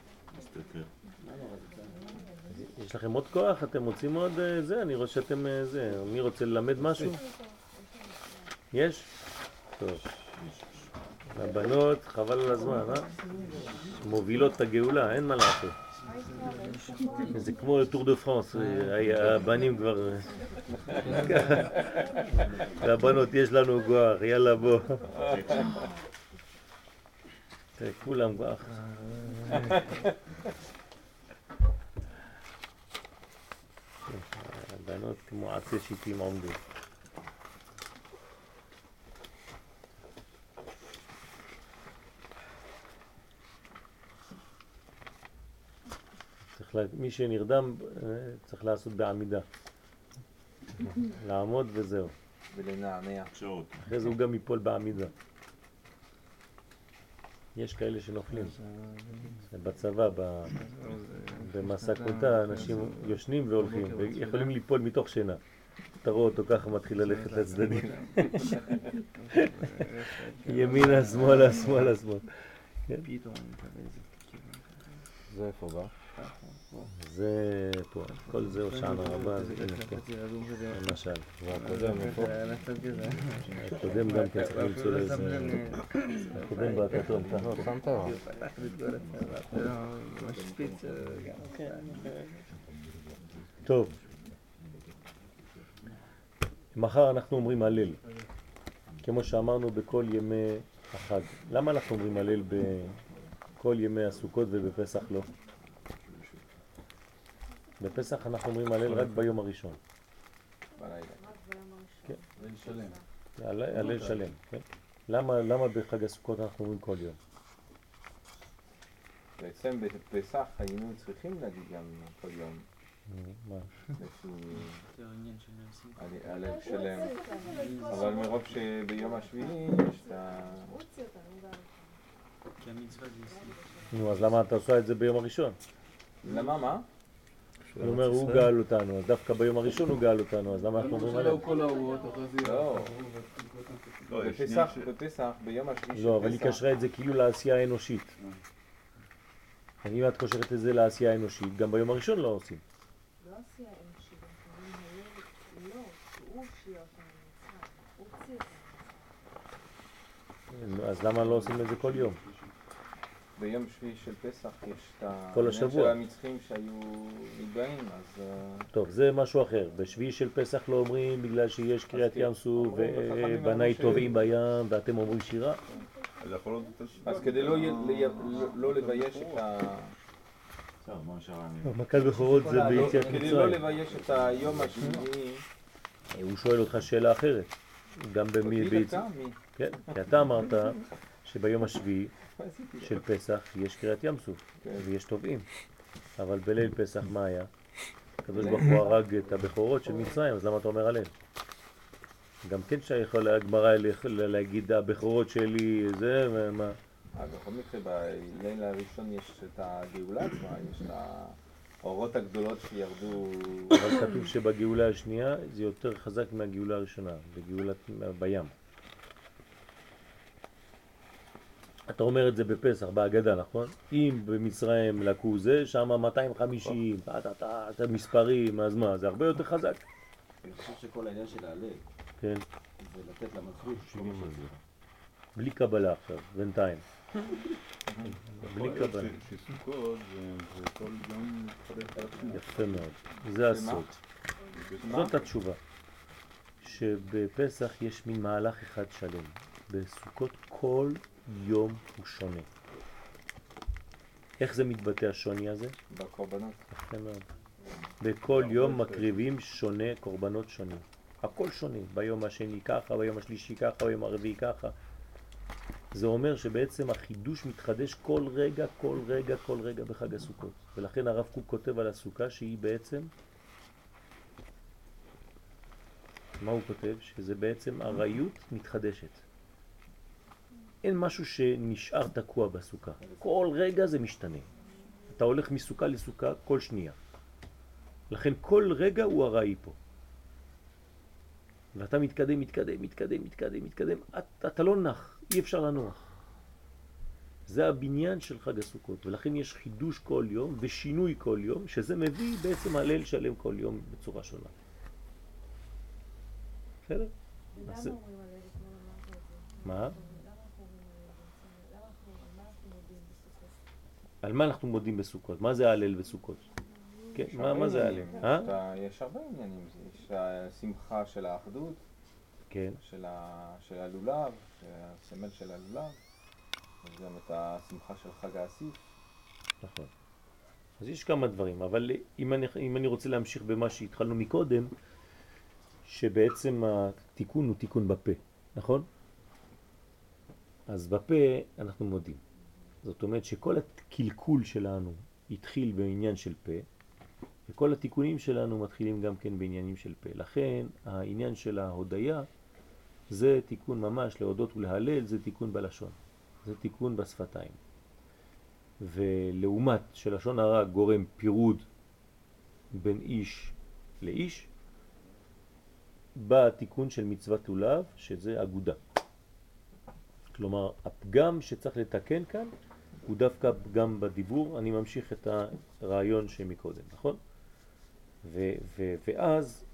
יש לכם עוד כוח? אתם רוצים עוד זה? אני רואה שאתם זה. מי רוצה ללמד משהו? יש? טוב. הבנות, חבל על הזמן, מובילות את הגאולה, אין מה לעשות. זה כמו טור דה פרנס, הבנים כבר... והבנות, יש לנו כוח, יאללה בוא. כולם כוח. הבנות כמו עצי שיטים עומדים. מי שנרדם צריך לעשות בעמידה. לעמוד וזהו. ולנענע. שעות. אחרי זה הוא גם ייפול בעמידה. יש כאלה שנופלים. בצבא, במסע קוטה, אנשים יושנים והולכים, ויכולים ליפול מתוך שינה. אתה רואה אותו ככה מתחיל ללכת לצדדים. ימינה, שמאלה, שמאלה, שמאלה. זה איפה בא? זה פה, כל זה הושענא רבה, למשל. הקודם גם כן צריך למצוא לאיזה... הקודם בכתום, שמת? טוב. מחר אנחנו אומרים הלל, כמו שאמרנו בכל ימי החג. למה אנחנו אומרים הלל בכל ימי הסוכות ובפסח לא? בפסח אנחנו אומרים הלל רק ביום הראשון. בלילה. כן. הלל שלם. הלל שלם, כן. למה בחג הסוכות אנחנו אומרים כל יום? בעצם בפסח היינו צריכים להגיד גם כל יום. מה? הלל שלם. אבל מרוב שביום השביעי יש את ה... נו, אז למה אתה עושה את זה ביום הראשון? למה מה? הוא אומר, הוא גאל אותנו, אז דווקא ביום הראשון הוא גאל אותנו, אז למה אנחנו אומרים עליהם? לא, בפסח, ביום השביעי של פסח. לא, אבל היא קשרה את זה כאילו לעשייה האנושית. אם את קושרת את זה לעשייה האנושית, גם ביום הראשון לא עושים. לא עשייה האנושית, לא, הוא הושיע אותנו, הוא הוציא אותנו. אז למה לא עושים את זה כל יום? ביום שביעי של פסח יש את כל השבוע. של המצחים שהיו נתבעים, אז... טוב, זה משהו אחר. בשביעי של פסח לא אומרים בגלל שיש קריאת ים סוף ובניי טובעים בים ואתם אומרים שירה. אז כדי לא לבייש את ה... מכת בכורות זה ביציאת כדי לא מצרים. לבייש את היום השביעי... הוא שואל אותך שאלה אחרת. גם במי ביציאת... כן, כי אתה אמרת שביום השביעי של פסח יש קריאת ים סוף ויש טובעים, אבל בליל פסח מה היה? הקדוש ברוך הוא הרג את הבכורות של מצרים, אז למה אתה אומר עליהם? גם כן שיכול הגמרא להגיד הבכורות שלי זה ומה? בכל מקרה בליל הראשון יש את הגאולה עצמה, יש את האורות הגדולות שירדו... אבל כתוב שבגאולה השנייה זה יותר חזק מהגאולה הראשונה, בגאולת בים. אתה אומר את זה בפסח, בהגדה, נכון? אם במצרים לקו זה, שם 250, את המספרים, אז מה? זה הרבה יותר חזק. אני חושב שכל העניין של ההלל, כן. זה לתת למלכות כל מה שזה. בלי קבלה עכשיו, בינתיים. בלי קבלה. שסוכות זה כל יום מתחדש על עצמו. יפה מאוד, זה הסוד. זאת התשובה. שבפסח יש מין מהלך אחד שלם. בסוכות כל יום הוא שונה. איך זה מתבטא השוני הזה? בקורבנות. יפה מאוד. בכל יום מקריבים שונה קורבנות שונים. הכל שונה. ביום השני ככה, ביום השלישי ככה, ביום הרביעי ככה. זה אומר שבעצם החידוש מתחדש כל רגע, כל רגע, כל רגע בחג הסוכות. ולכן הרב קוק כותב על הסוכה שהיא בעצם, מה הוא כותב? שזה בעצם הרעיות מתחדשת. אין משהו שנשאר תקוע בסוכה. כל רגע זה משתנה. אתה הולך מסוכה לסוכה כל שנייה. לכן כל רגע הוא הרעי פה. ואתה מתקדם, מתקדם, מתקדם, מתקדם, מתקדם. אתה לא נח, אי אפשר לנוח. זה הבניין של חג הסוכות, ולכן יש חידוש כל יום ושינוי כל יום, שזה מביא בעצם הלל שלם כל יום בצורה שונה. בסדר? למה אומרים הלל אתמול אמרת את זה? מה? למה אנחנו אומרים הלל? על מה אנחנו מודים בסוכות? על מה אנחנו מודים בסוכות? מה זה הלל בסוכות? כן, מה זה הלל? יש הרבה עניינים, יש השמחה של האחדות, כן. של הלולב, הסמל של הלולב, וגם את השמחה של חג האסיף. נכון. אז יש כמה דברים, אבל אם אני רוצה להמשיך במה שהתחלנו מקודם, שבעצם התיקון הוא תיקון בפה, נכון? אז בפה אנחנו מודים. זאת אומרת שכל הקלקול שלנו התחיל בעניין של פה, וכל התיקונים שלנו מתחילים גם כן בעניינים של פה. לכן העניין של ההודיה זה תיקון ממש, להודות ולהלל זה תיקון בלשון, זה תיקון בשפתיים. ולעומת שלשון הרע גורם פירוד בין איש לאיש, בא התיקון של מצוות לולב שזה אגודה. כלומר הפגם שצריך לתקן כאן הוא דווקא פגם בדיבור. אני ממשיך את הרעיון שמקודם, נכון? ואז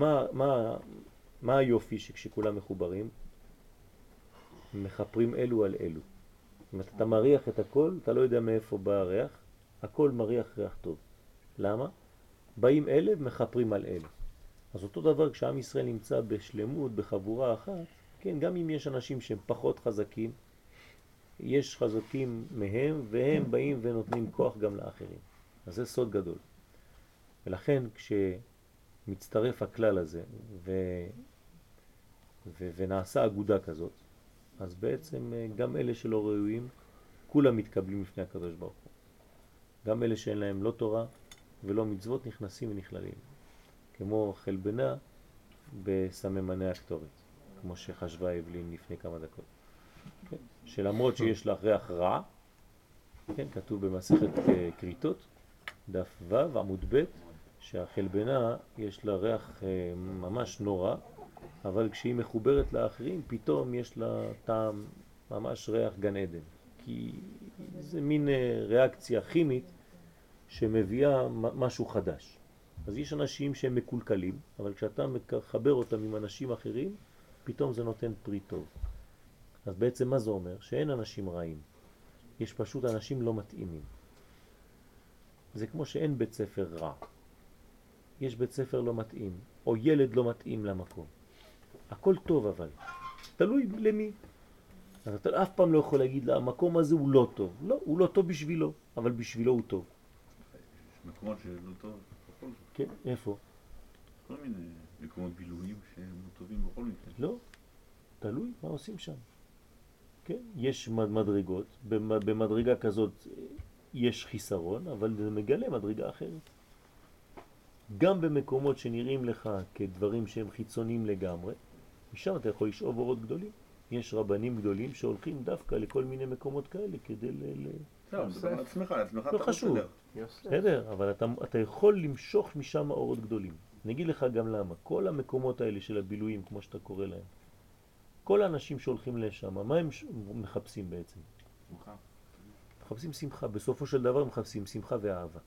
מה היופי שכשכולם מחוברים מחפרים אלו על אלו. אם אתה מריח את הכל, אתה לא יודע מאיפה בא הריח, הכל מריח ריח טוב. למה? באים אלה ומחפרים על אלה. אז אותו דבר כשעם ישראל נמצא בשלמות, בחבורה אחת, כן, גם אם יש אנשים שהם פחות חזקים, יש חזקים מהם והם באים ונותנים כוח גם לאחרים. אז זה סוד גדול. ולכן כשמצטרף הכלל הזה ונעשה אגודה כזאת, אז בעצם גם אלה שלא ראויים, כולם מתקבלים לפני הקדוש ברוך הוא. גם אלה שאין להם לא תורה ולא מצוות נכנסים ונכללים. כמו חלבנה בסממני הקטורת, כמו שחשבה אבלין לפני כמה דקות. כן? שלמרות שיש לה ריח רע, כן? כתוב במסכת קריטות, דף ו' עמוד ב', שהחלבנה יש לה ריח ממש נורא, אבל כשהיא מחוברת לאחרים פתאום יש לה טעם ממש ריח גן עדן, כי זה מין ריאקציה כימית שמביאה משהו חדש. אז יש אנשים שהם מקולקלים, אבל כשאתה מחבר אותם עם אנשים אחרים, פתאום זה נותן פרי טוב. אז בעצם מה זה אומר? שאין אנשים רעים, יש פשוט אנשים לא מתאימים. זה כמו שאין בית ספר רע, יש בית ספר לא מתאים, או ילד לא מתאים למקום. הכל טוב אבל, תלוי למי. אז אתה אף פעם לא יכול להגיד לה, המקום הזה הוא לא טוב. לא, הוא לא טוב בשבילו, אבל בשבילו הוא טוב. יש מקומות שלא טוב בכל זאת. כן, איפה? כל מיני מקומות בילויים שהם טובים בכל מקרה. לא, תלוי מה עושים שם. כן, יש מדרגות, במדרגה כזאת יש חיסרון, אבל זה מגלה מדרגה אחרת. גם במקומות שנראים לך כדברים שהם חיצוניים לגמרי, משם אתה יכול לשאוב אורות גדולים. יש רבנים גדולים שהולכים דווקא לכל מיני מקומות כאלה כדי לא, מדבר על עצמך, לא חשוב. בסדר, אבל אתה יכול למשוך משם אורות גדולים. נגיד לך גם למה. כל המקומות האלה של הבילויים, כמו שאתה קורא להם, כל האנשים שהולכים לשם, מה הם מחפשים בעצם? שמחה. מחפשים שמחה. בסופו של דבר מחפשים שמחה ואהבה.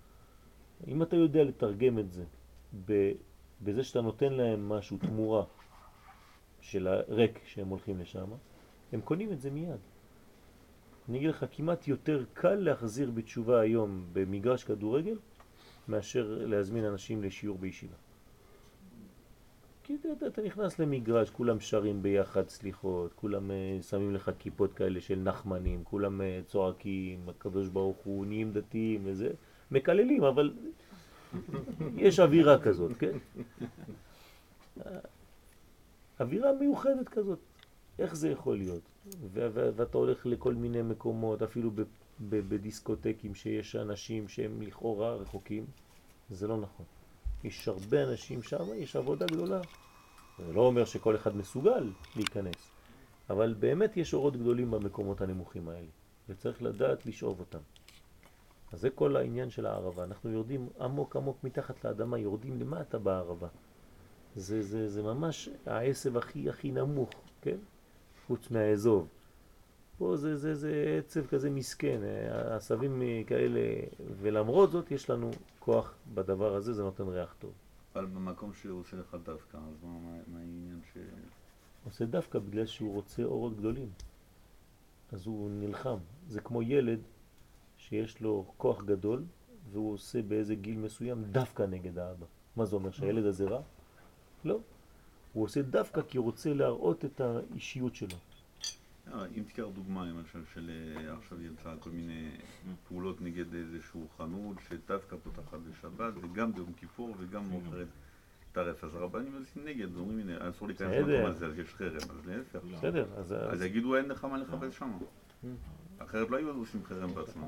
אם אתה יודע לתרגם את זה בזה שאתה נותן להם משהו, תמורה, של הריק שהם הולכים לשם, הם קונים את זה מיד. אני אגיד לך, כמעט יותר קל להחזיר בתשובה היום במגרש כדורגל מאשר להזמין אנשים לשיעור בישיבה. כי אתה נכנס למגרש, כולם שרים ביחד סליחות, כולם שמים לך כיפות כאלה של נחמנים, כולם צועקים, הקדוש ברוך הוא, נהיים דתיים וזה, מקללים, אבל יש אווירה כזאת, כן? אווירה מיוחדת כזאת. איך זה יכול להיות? ואתה הולך לכל מיני מקומות, אפילו בדיסקוטקים שיש אנשים שהם לכאורה רחוקים, זה לא נכון. יש הרבה אנשים שם, יש עבודה גדולה. זה לא אומר שכל אחד מסוגל להיכנס, אבל באמת יש אורות גדולים במקומות הנמוכים האלה, וצריך לדעת לשאוב אותם. אז זה כל העניין של הערבה. אנחנו יורדים עמוק עמוק מתחת לאדמה, יורדים למטה בערבה. זה ממש העשב הכי נמוך, כן? חוץ מהאזוב. פה זה עצב כזה מסכן, העשבים כאלה, ולמרות זאת יש לנו כוח בדבר הזה, זה נותן ריח טוב. אבל במקום שהוא עושה לך דווקא, אז מה העניין ש... עושה דווקא בגלל שהוא רוצה אורות גדולים. אז הוא נלחם. זה כמו ילד שיש לו כוח גדול, והוא עושה באיזה גיל מסוים דווקא נגד האבא. מה זה אומר? שהילד הזה רע? לא. הוא עושה דווקא כי הוא רוצה להראות את האישיות שלו. אם תיקח דוגמה, למשל, של עכשיו יצא כל מיני פעולות נגד איזשהו חנות שדווקא פותחת בשבת, וגם ביום כיפור וגם מוכרת טרף, אז הרבנים יוצאים נגד, אומרים, הנה, אסור להיכנס למקום הזה, אז יש חרם, אז להפך. בסדר, אז יגידו, אין לך מה לחפש שם. אחרת לא היו עושים חרם בעצמם.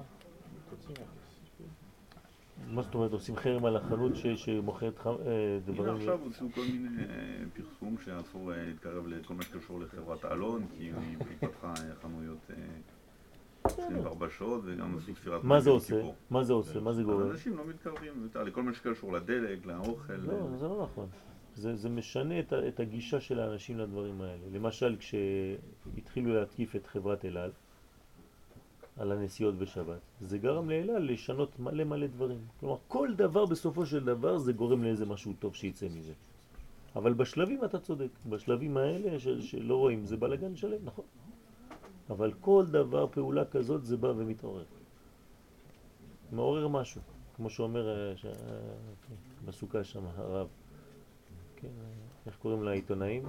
מה זאת אומרת, עושים חרם על החנות שמוכרת דברים? הנה עכשיו הוציאו כל מיני פרסום שאסור להתקרב לכל מה שקשור לחברת אלון, כי היא פתחה חנויות 24 שעות וגם עשו ספירת... מה זה עושה? מה זה עושה? מה זה גורם? אנשים לא מתקרבים לכל מה שקשור לדלק, לאוכל. לא, זה לא נכון. זה משנה את הגישה של האנשים לדברים האלה. למשל, כשהתחילו להתקיף את חברת אל על, על הנסיעות בשבת, זה גרם לאל על לשנות מלא דברים. כלומר, כל דבר בסופו של דבר זה גורם לאיזה משהו טוב שיצא מזה. אבל בשלבים אתה צודק. בשלבים האלה שלא רואים, זה בלגן שלם, נכון? אבל כל דבר, פעולה כזאת, זה בא ומתעורר. מעורר משהו. כמו שאומר בסוכה שם, הרב. כן, איך קוראים לעיתונאים?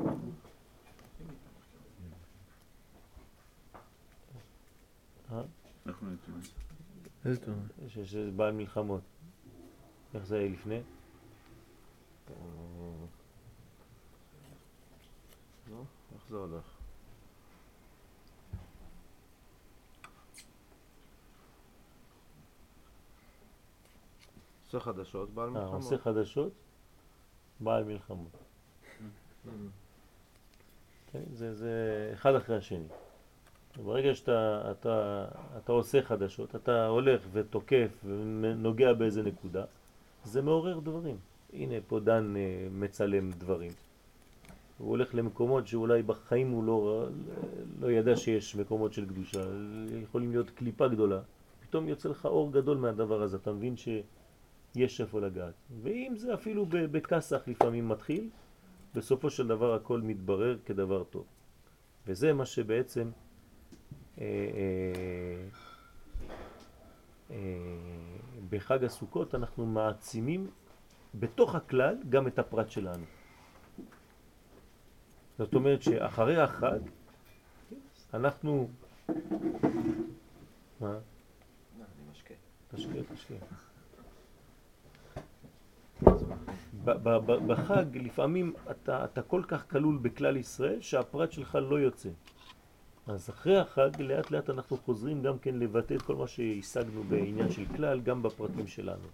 אנחנו עיתונאים. איזה עיתונאים? שזה בעל מלחמות. איך זה היה לפני? לא? איך זה הולך? עושה חדשות, בעל מלחמות. עושה חדשות, בעל מלחמות. זה אחד אחרי השני. ברגע שאתה עושה חדשות, אתה הולך ותוקף ונוגע באיזה נקודה, זה מעורר דברים. הנה פה דן מצלם דברים. הוא הולך למקומות שאולי בחיים הוא לא ידע שיש מקומות של קדושה, יכולים להיות קליפה גדולה. פתאום יוצא לך אור גדול מהדבר הזה, אתה מבין שיש איפה לגעת. ואם זה אפילו בכסח לפעמים מתחיל, בסופו של דבר הכל מתברר כדבר טוב. וזה מה שבעצם בחג הסוכות אנחנו מעצימים בתוך הכלל גם את הפרט שלנו. זאת אומרת שאחרי החג אנחנו... מה? אני משקה. תשקה. בחג לפעמים אתה כל כך כלול בכלל ישראל שהפרט שלך לא יוצא. אז אחרי החג לאט לאט אנחנו חוזרים גם כן לבטא את כל מה שהשגנו בעניין של כלל גם בפרטים שלנו.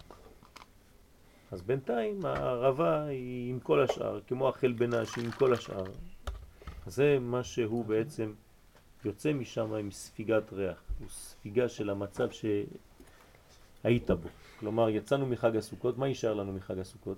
אז בינתיים הערבה היא עם כל השאר, כמו החל בנש עם כל השאר. זה מה שהוא בעצם יוצא משם עם ספיגת ריח, הוא ספיגה של המצב שהיית בו. כלומר יצאנו מחג הסוכות, מה יישאר לנו מחג הסוכות?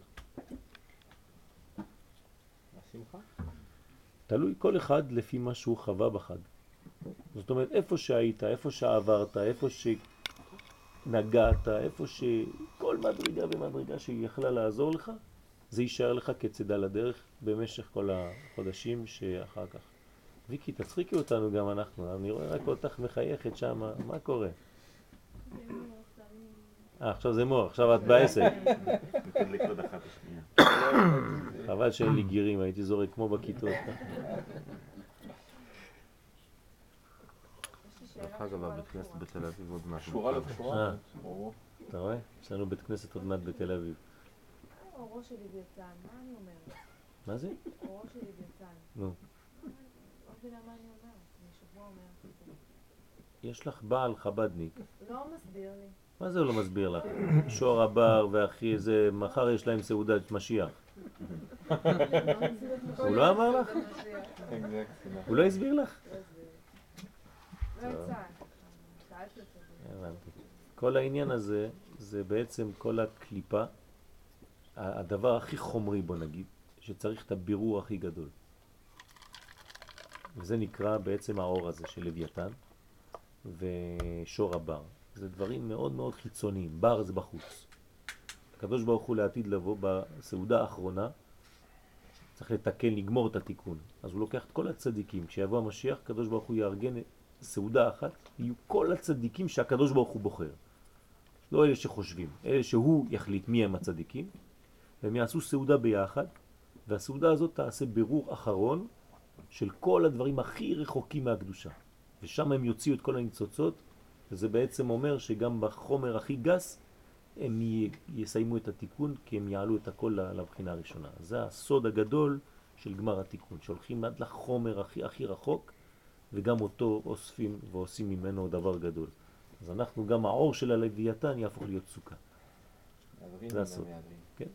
השמחה? תלוי כל אחד לפי מה שהוא חווה בחג. זאת אומרת, איפה שהיית, איפה שעברת, איפה שנגעת, איפה שכל מדרגה ומדרגה שהיא יכלה לעזור לך, זה יישאר לך כצידה לדרך במשך כל החודשים שאחר כך. ויקי, תצחיקי אותנו גם אנחנו, אני רואה רק אותך מחייכת שם, מה קורה? עכשיו זה מור, עכשיו את בעסק. נתדליק עוד אחת השנייה. חבל שאין לי גירים, הייתי זורק כמו בכיתות. דרך אגב, הבית כנסת בתל אביב עוד מעט. קשורה לא קשורה? אתה רואה? יש לנו בית כנסת עוד מעט בתל אביב. אורו של לוויתן, מה אני אומרת? מה זה? אורו של לוויתן. נו. לא מבינה מה אני אומרת, אני שבוע אומרת את זה. יש לך בעל חבדניק. לא מסביר לי. מה זה הוא לא מסביר לך? שור הבר ואחי זה, מחר יש להם סעודת משיח. הוא לא אמר לך? הוא לא הסביר לך? לא יצא. שאלתי אותו. הבנתי. כל העניין הזה זה בעצם כל הקליפה, הדבר הכי חומרי בוא נגיד, שצריך את הבירור הכי גדול. וזה נקרא בעצם האור הזה של לוויתן ושור הבר. זה דברים מאוד מאוד חיצוניים, בר זה בחוץ. הקדוש ברוך הוא לעתיד לבוא בסעודה האחרונה, צריך לתקן, לגמור את התיקון. אז הוא לוקח את כל הצדיקים, כשיבוא המשיח, הקדוש ברוך הוא יארגן סעודה אחת, יהיו כל הצדיקים שהקדוש ברוך הוא בוחר. לא אלה שחושבים, אלה שהוא יחליט מי הם הצדיקים, והם יעשו סעודה ביחד, והסעודה הזאת תעשה בירור אחרון של כל הדברים הכי רחוקים מהקדושה. ושם הם יוציאו את כל הניצוצות, וזה בעצם אומר שגם בחומר הכי גס הם יסיימו את התיקון, כי הם יעלו את הכל לבחינה הראשונה. זה הסוד הגדול של גמר התיקון, שהולכים עד לחומר הכי רחוק, וגם אותו אוספים ועושים ממנו דבר גדול. אז אנחנו, גם האור של הלוויתן יהפוך להיות סוכה. זה הסוד. כן.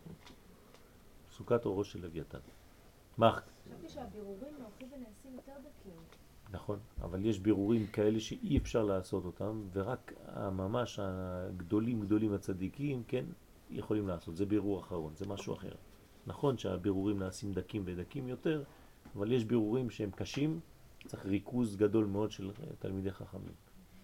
סוכת אורו של לוויתן. מה? חשבתי שהבירורים הולכים ונעשים יותר דקים. נכון, אבל יש בירורים כאלה שאי אפשר לעשות אותם, ורק ממש הגדולים הצדיקים, כן, יכולים לעשות. זה בירור אחרון, זה משהו אחר. נכון שהבירורים נעשים דקים ודקים יותר, אבל יש בירורים שהם קשים, צריך ריכוז גדול מאוד של תלמידי חכמים.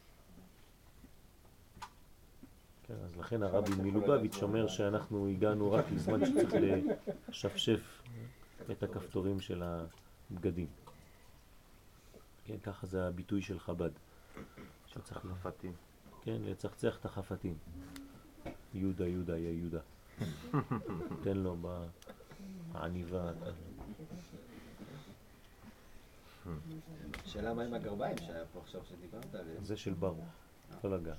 כן, אז לכן הרבי מלובביץ' אומר שאנחנו הגענו רק לזמן שצריך לשפשף את הכפתורים של הבגדים. כן, ככה זה הביטוי של חב"ד. שצריך חפתים. כן, לצחצח את החפתים. יהודה, יהודה, יא יהודה. תן לו בעניבה. שאלה מה עם הגרביים שהיה פה עכשיו שדיברת עליהם? זה של ברוך, לא לגע.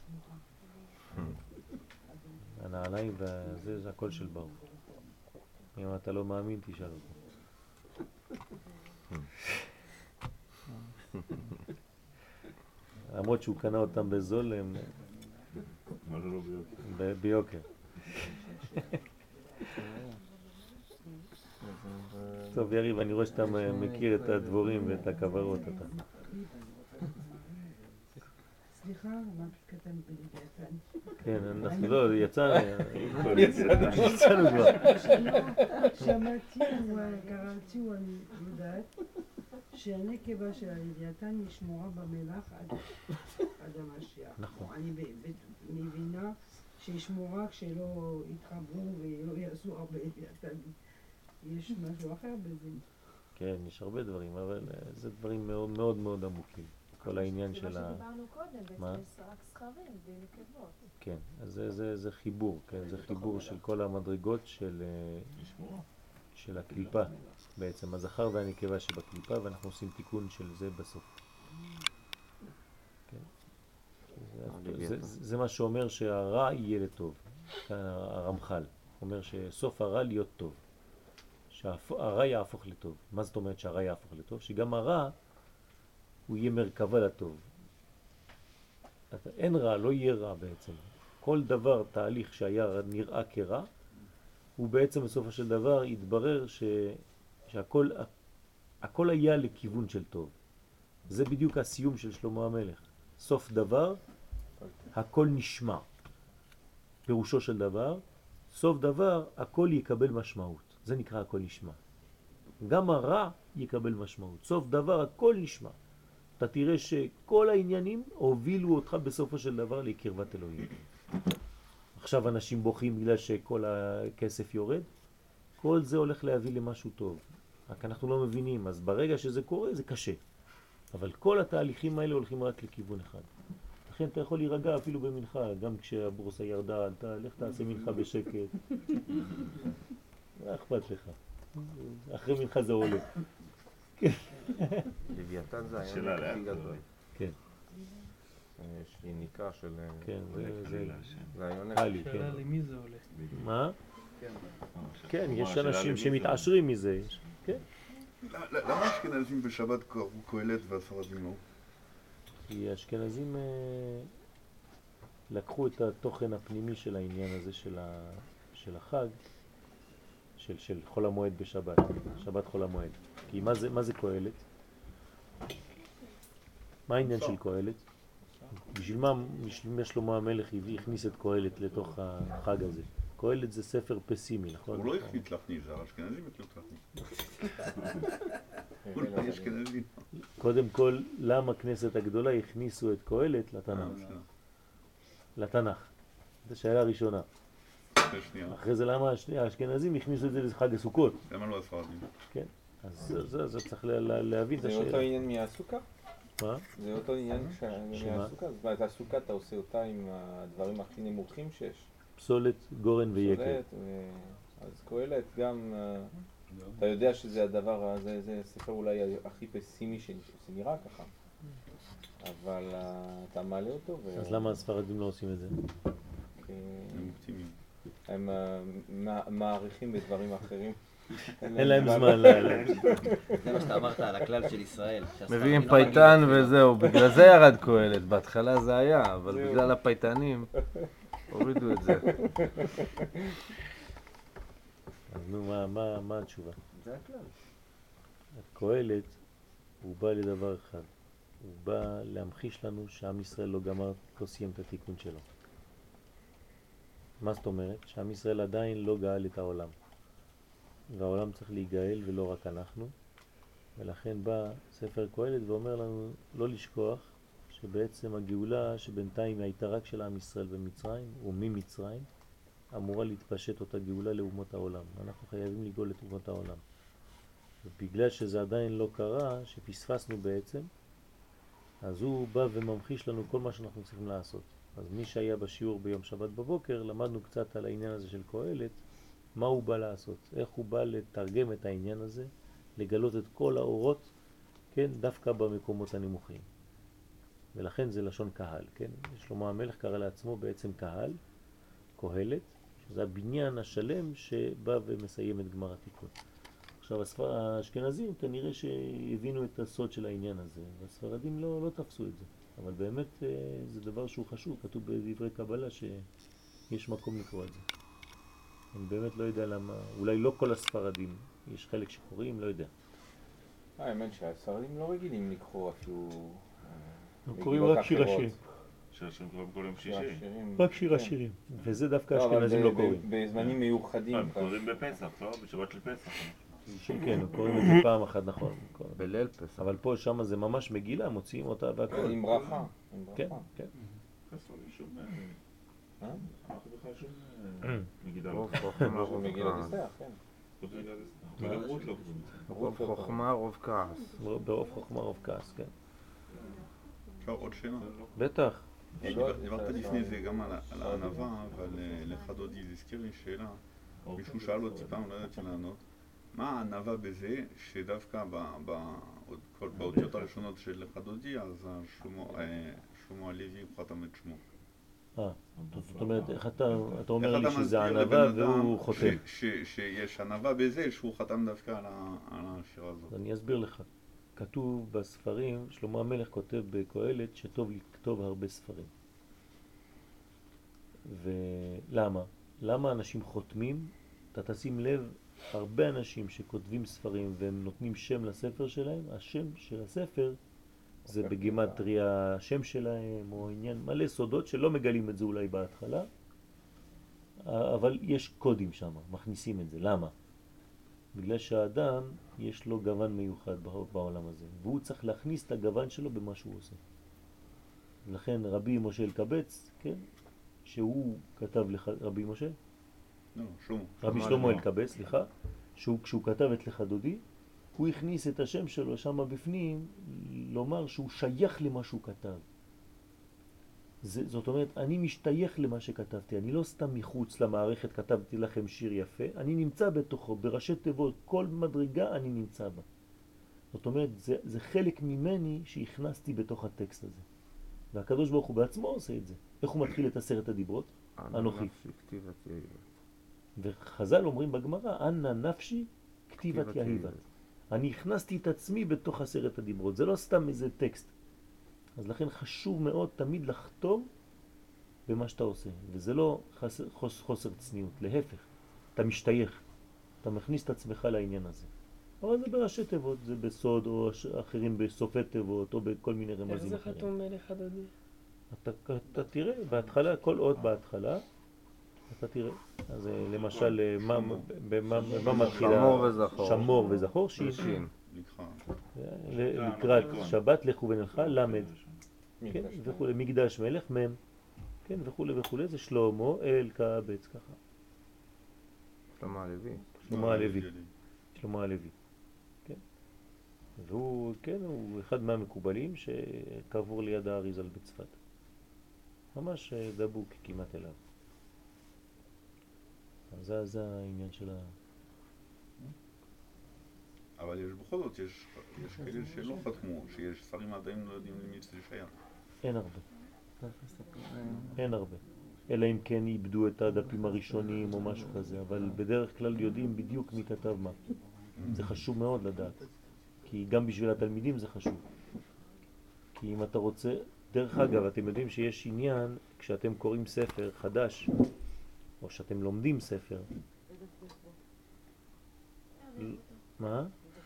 הנעליים וזה, זה הכל של ברוך. אם אתה לא מאמין, תשאל אותו. למרות שהוא קנה אותם בזול, הם ביוקר. טוב יריב, אני רואה שאתה מכיר את הדבורים ואת הכוורות. סליחה, אמרתי קטן בלוויתן. כן, אנחנו לא, יצאנו כבר. שמעתי, קראתי, אני יודעת, שהנקבה של הלוויתן היא שמורה במלח עד המשיח. נכון. אני מבינה שהיא שמורה כשלא יתחברו ולא יעשו הרבה לוויתנים. יש משהו אחר בזה? כן, יש הרבה דברים, אבל זה דברים מאוד מאוד מאוד עמוקים. כל העניין של מה שדיברנו קודם, בעצם יש רק סכרים ונקבות. כן, אז זה חיבור, כן, זה חיבור של כל המדרגות של הקליפה, בעצם הזכר והנקבה שבקליפה, ואנחנו עושים תיקון של זה בסוף. זה מה שאומר שהרע יהיה לטוב. הרמח"ל אומר שסוף הרע להיות טוב, שהרע יהפוך לטוב. מה זאת אומרת שהרע יהפוך לטוב? שגם הרע הוא יהיה מרכבה לטוב. אין רע, לא יהיה רע בעצם. כל דבר, תהליך שהיה נראה כרע, הוא בעצם בסופו של דבר יתברר שהכל היה לכיוון של טוב. זה בדיוק הסיום של שלמה המלך. סוף דבר, הכל נשמע. פירושו של דבר, סוף דבר, הכל יקבל משמעות. זה נקרא הכל נשמע. גם הרע יקבל משמעות. סוף דבר, הכל נשמע. אתה תראה שכל העניינים הובילו אותך בסופו של דבר לקרבת אלוהים. עכשיו אנשים בוכים בגלל שכל הכסף יורד. כל זה הולך להביא למשהו טוב. רק אנחנו לא מבינים, אז ברגע שזה קורה זה קשה. אבל כל התהליכים האלה הולכים רק לכיוון אחד. לכן אתה יכול להירגע אפילו במנחה, גם כשהבורסה ירדה, עלתה, לך תעשה מנחה בשקט. מה אכפת לך? אחרי מנחה זה עולה. לוויתן זה שאלה העונג הכי לאט. גדול. כן. יש יניקה של... כן, זה העונג. קלי, כן. שאלה למי זה הולך. מה? כן, יש השאלה אנשים למי זה שמתעשרים מזה. כן. למה אשכנזים בשבת קראו קהלת והספרדים לא? כי האשכנזים לקחו את התוכן הפנימי של העניין הזה של החג, של חול המועד בשבת, שבת חול המועד. כי מה זה קהלת? מה העניין של קהלת? בשביל מה שלמה המלך הכניס את קהלת לתוך החג הזה? קהלת זה ספר פסימי, נכון? הוא לא החליט להכניס, האשכנזים החליט להכניס. הוא לא אשכנזי. קודם כל, למה כנסת הגדולה הכניסו את קהלת לתנ"ך? לתנ"ך. זו שאלה ראשונה. אחרי זה למה האשכנזים הכניסו את זה לחג הסוכות? למה לא הספרדים? כן, אז זה צריך להבין את זה השאלה. אותו עניין מהסוכה? מה? זה אותו עניין מהסוכה? זאת אומרת, הסוכה אתה עושה אותה עם הדברים הכי נמוכים שיש. פסולת, גורן ויקר. אז קהלת גם, אתה יודע שזה הדבר, זה ספר אולי הכי פסימי שנראה ככה, אבל אתה מעלה אותו אז למה הספרדים לא עושים את זה? הם אופטימיים. הם מעריכים בדברים אחרים. אין להם זמן. זה מה שאתה אמרת על הכלל של ישראל. מביאים פייטן וזהו, בגלל זה ירד קהלת, בהתחלה זה היה, אבל בגלל הפייטנים הורידו את זה. אז נו, מה התשובה? זה הכלל. קהלת הוא בא לדבר אחד, הוא בא להמחיש לנו שעם ישראל לא סיים את התיקון שלו. מה זאת אומרת? שעם ישראל עדיין לא גאל את העולם, והעולם צריך להיגאל ולא רק אנחנו, ולכן בא ספר קהלת ואומר לנו לא לשכוח שבעצם הגאולה שבינתיים הייתה רק של עם ישראל במצרים וממצרים, אמורה להתפשט אותה גאולה לאומות העולם. אנחנו חייבים לגאול את אומות העולם. ובגלל שזה עדיין לא קרה, שפספסנו בעצם, אז הוא בא וממחיש לנו כל מה שאנחנו צריכים לעשות. אז מי שהיה בשיעור ביום שבת בבוקר, למדנו קצת על העניין הזה של קהלת, מה הוא בא לעשות, איך הוא בא לתרגם את העניין הזה, לגלות את כל האורות, כן, דווקא במקומות הנמוכים. ולכן זה לשון קהל, כן? שלמה המלך קרא לעצמו בעצם קהל, קהלת, שזה הבניין השלם שבא ומסיים את גמר התיקון. עכשיו האשכנזים כנראה שהבינו את הסוד של העניין הזה, והספרדים לא תפסו את זה. אבל באמת זה דבר שהוא חשוב, כתוב בדברי קבלה שיש מקום לקרוא את זה. אני באמת לא יודע למה, אולי לא כל הספרדים, יש חלק שקוראים, לא יודע. האמת שהספרדים לא רגילים לקרוא אפילו קוראים רק שיר השירים. שיר השירים קוראים כל יום שישי. רק שיר השירים, וזה דווקא האשכנזים לא קוראים. בזמנים מיוחדים. הם קוראים בפסח, לא? בשבת של פסח. כן, קוראים את זה פעם אחת, נכון. בליל פסח. אבל פה שם זה ממש מגילה, מוציאים אותה והכל. עם ברכה. כן, כן. חסון שום... אנחנו בכלל שום... מגידה רוב לא. חוכמה, רוב מגילה כעס. נסתח, כן. וגם רות לא. רוב חוכמה, רוב כעס. ברוב חוכמה, רוב כעס, כן. אפשר עוד שאלה? בטח. דיברת לפני זה גם על הענווה, אבל לך דודי זה הזכיר לי שאלה. מישהו שאל אותי פעם, לא ידעתי לענות. מה הענווה בזה שדווקא באותיות הראשונות של לך דודי, אז שלמה הלוי הוא חתם את שמו. זאת אומרת, איך אתה אומר לי שזה ענווה והוא חותם? שיש ענווה בזה שהוא חתם דווקא על השירה הזאת. אני אסביר לך. כתוב בספרים, שלמה המלך כותב בקהלת שטוב לכתוב הרבה ספרים. ולמה? למה אנשים חותמים? אתה תשים לב, הרבה אנשים שכותבים ספרים והם נותנים שם לספר שלהם, השם של הספר זה בגימטריה השם שלהם או עניין מלא סודות שלא מגלים את זה אולי בהתחלה, אבל יש קודים שם, מכניסים את זה. למה? בגלל שהאדם יש לו גוון מיוחד בעולם הזה, והוא צריך להכניס את הגוון שלו במה שהוא עושה. לכן רבי משה אלקבץ, כן, שהוא כתב רבי משה, לא, שלמה. רבי שלמה אלקבץ, סליחה, כשהוא כתב את לך דודי, הוא הכניס את השם שלו שם בפנים, לומר שהוא שייך למה שהוא כתב. זאת אומרת, אני משתייך למה שכתבתי, אני לא סתם מחוץ למערכת כתבתי לכם שיר יפה, אני נמצא בתוכו, בראשי תיבות, כל מדרגה אני נמצא בה. זאת אומרת, זה חלק ממני שהכנסתי בתוך הטקסט הזה. והקדוש ברוך הוא בעצמו עושה את זה. איך הוא מתחיל את 10 הדיברות? אנוכי. וחז"ל אומרים בגמרא, אנא נפשי כתיבת יהיבת. אני הכנסתי את עצמי בתוך 10 הדיברות, זה לא סתם איזה טקסט. אז לכן חשוב מאוד תמיד לחתום במה שאתה עושה, וזה לא חוסר צניעות, להפך, אתה משתייך, אתה מכניס את עצמך לעניין הזה. אבל זה בראשי תיבות, זה בסוד או אחרים בסופי תיבות או בכל מיני רמזים אחרים. איך זה חתום לך דודי? אתה תראה, בהתחלה, כל אות בהתחלה, אתה תראה. אז למשל, מה מתחילה? שמור וזכור. שמור וזכור, שין. לקראת שבת לכו ונלכה, למד. כן, וכו', מקדש מלך, מם. כן, וכו' וכו', זה שלמה, אלקבץ, ככה. שלמה הלוי. שלמה הלוי. שלמה הלוי. כן. והוא, כן, הוא אחד מהמקובלים שקבור ליד האריזל בצפת. ממש דבוק כמעט אליו. אז זה העניין של אבל יש בכל זאת, יש כאלה שלא חתמו, שיש שרים עדיין לא יודעים למי זה שייך. אין הרבה. אין הרבה. אלא אם כן איבדו את הדפים הראשונים או משהו כזה, אבל בדרך כלל יודעים בדיוק מי כתב מה. זה חשוב מאוד לדעת, כי גם בשביל התלמידים זה חשוב. כי אם אתה רוצה, דרך אגב, אתם יודעים שיש עניין כשאתם קוראים ספר חדש, או שאתם לומדים ספר. מה?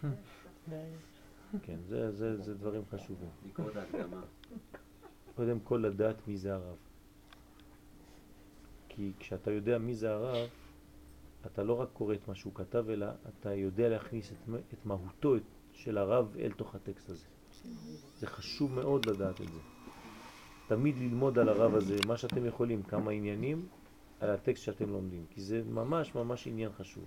כן, זה דברים חשובים. לקרוא את ההקדמה. קודם כל לדעת מי זה הרב. כי כשאתה יודע מי זה הרב, אתה לא רק קורא את מה שהוא כתב, אלא אתה יודע להכניס את מהותו של הרב אל תוך הטקסט הזה. זה חשוב מאוד לדעת את זה. תמיד ללמוד על הרב הזה, מה שאתם יכולים, כמה עניינים על הטקסט שאתם לומדים, כי זה ממש ממש עניין חשוב.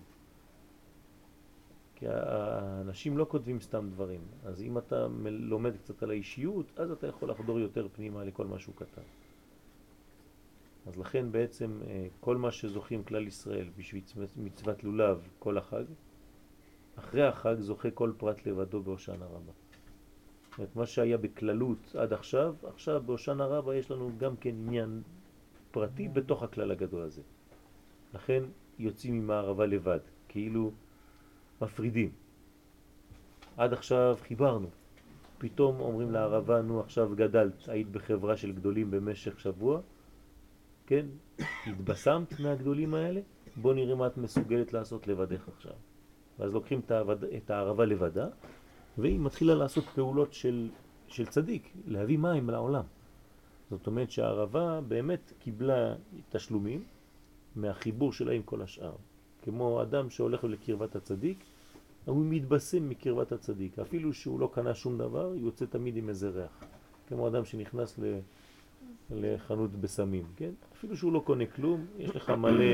כי האנשים לא כותבים סתם דברים, אז אם אתה לומד קצת על האישיות, אז אתה יכול לחדור יותר פנימה לכל מה שהוא כתב. אז לכן בעצם כל מה שזוכים כלל ישראל בשביל מצוות לולב כל החג, אחרי החג זוכה כל פרט לבדו בהושענא רבה. זאת אומרת, מה שהיה בכללות עד עכשיו, עכשיו בהושענא רבה יש לנו גם כן עניין פרטי בתוך הכלל הגדול הזה. לכן יוצאים עם הערבה לבד, כאילו מפרידים. עד עכשיו חיברנו. פתאום אומרים לערבה, נו עכשיו גדלת, היית בחברה של גדולים במשך שבוע, כן? התבשמת מהגדולים האלה, בוא נראה מה את מסוגלת לעשות לבדך עכשיו. ואז לוקחים את הערבה לבדה, והיא מתחילה לעשות פעולות של צדיק, להביא מים לעולם. זאת אומרת שהערבה באמת קיבלה תשלומים מהחיבור שלה עם כל השאר. כמו אדם שהולך לקרבת הצדיק, הוא מתבשם מקרבת הצדיק. אפילו שהוא לא קנה שום דבר, הוא יוצא תמיד עם איזה ריח. כמו אדם שנכנס לחנות בסמים, כן? אפילו שהוא לא קונה כלום, יש לך מלא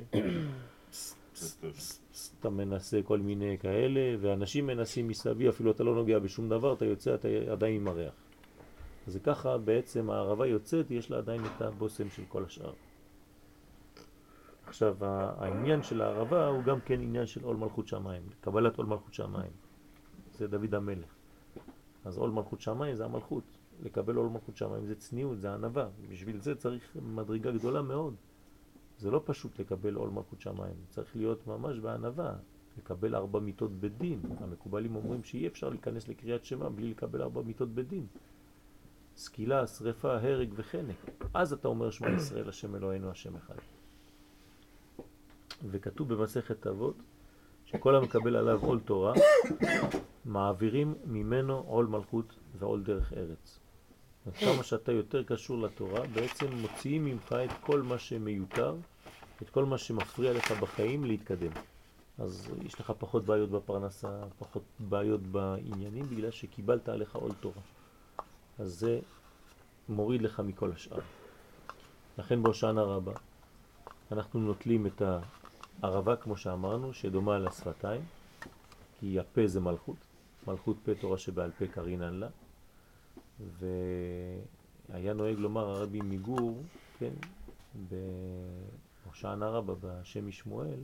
אתה מנסה כל מיני כאלה, ואנשים מנסים מסביב, אפילו אתה לא נוגע בשום דבר, אתה יוצא, אתה עדיין עם הריח. אז ככה בעצם הערבה יוצאת, יש לה עדיין את הבוסם של כל השאר. עכשיו, העניין של הערבה הוא גם כן עניין של עול מלכות שמיים, קבלת עול מלכות שמיים. זה דוד המלך. אז עול מלכות שמיים זה המלכות. לקבל עול מלכות שמיים זה צניעות, זה ענווה. בשביל זה צריך מדרגה גדולה מאוד. זה לא פשוט לקבל עול מלכות שמיים, צריך להיות ממש בענווה, לקבל 4 מיתות בדין. המקובלים אומרים שאי אפשר להיכנס לקריאת שמע בלי לקבל 4 מיתות בדין. סקילה, שריפה, הרג וחנק. אז אתה אומר שמע ישראל השם אלוהינו השם אחד. וכתוב במסכת אבות שכל המקבל עליו עול תורה מעבירים ממנו עול מלכות ועול דרך ארץ. כמה שאתה יותר קשור לתורה, בעצם מוציאים ממך את כל מה שמיותר, את כל מה שמפריע לך בחיים להתקדם. אז יש לך פחות בעיות בפרנסה, פחות בעיות בעניינים, בגלל שקיבלת עליך עול תורה. אז זה מוריד לך מכל השאר. לכן בהושענא רבה אנחנו נוטלים את ערבה, כמו שאמרנו, שדומה לשפתיים, כי הפה זה מלכות, מלכות פה תורה שבעל פה קרינן לה, והיה נוהג לומר הרבי מגור, כן, בהושענא רבה בשם משמואל,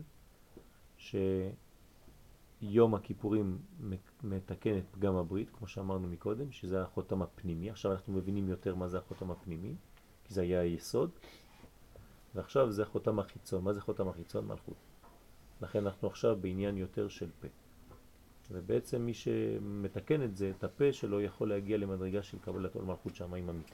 שיום הכיפורים מתקן את פגם הברית, כמו שאמרנו מקודם, שזה החותם הפנימי. עכשיו אנחנו מבינים יותר מה זה החותם הפנימי, כי זה היה היסוד, ועכשיו זה החותם החיצון. מה זה חותם החיצון? מלכות. לכן אנחנו עכשיו בעניין יותר של פה. ובעצם מי שמתקן את זה, את הפה שלו, יכול להגיע למדרגה של קבלת עול מלכות שמיים אמיתי.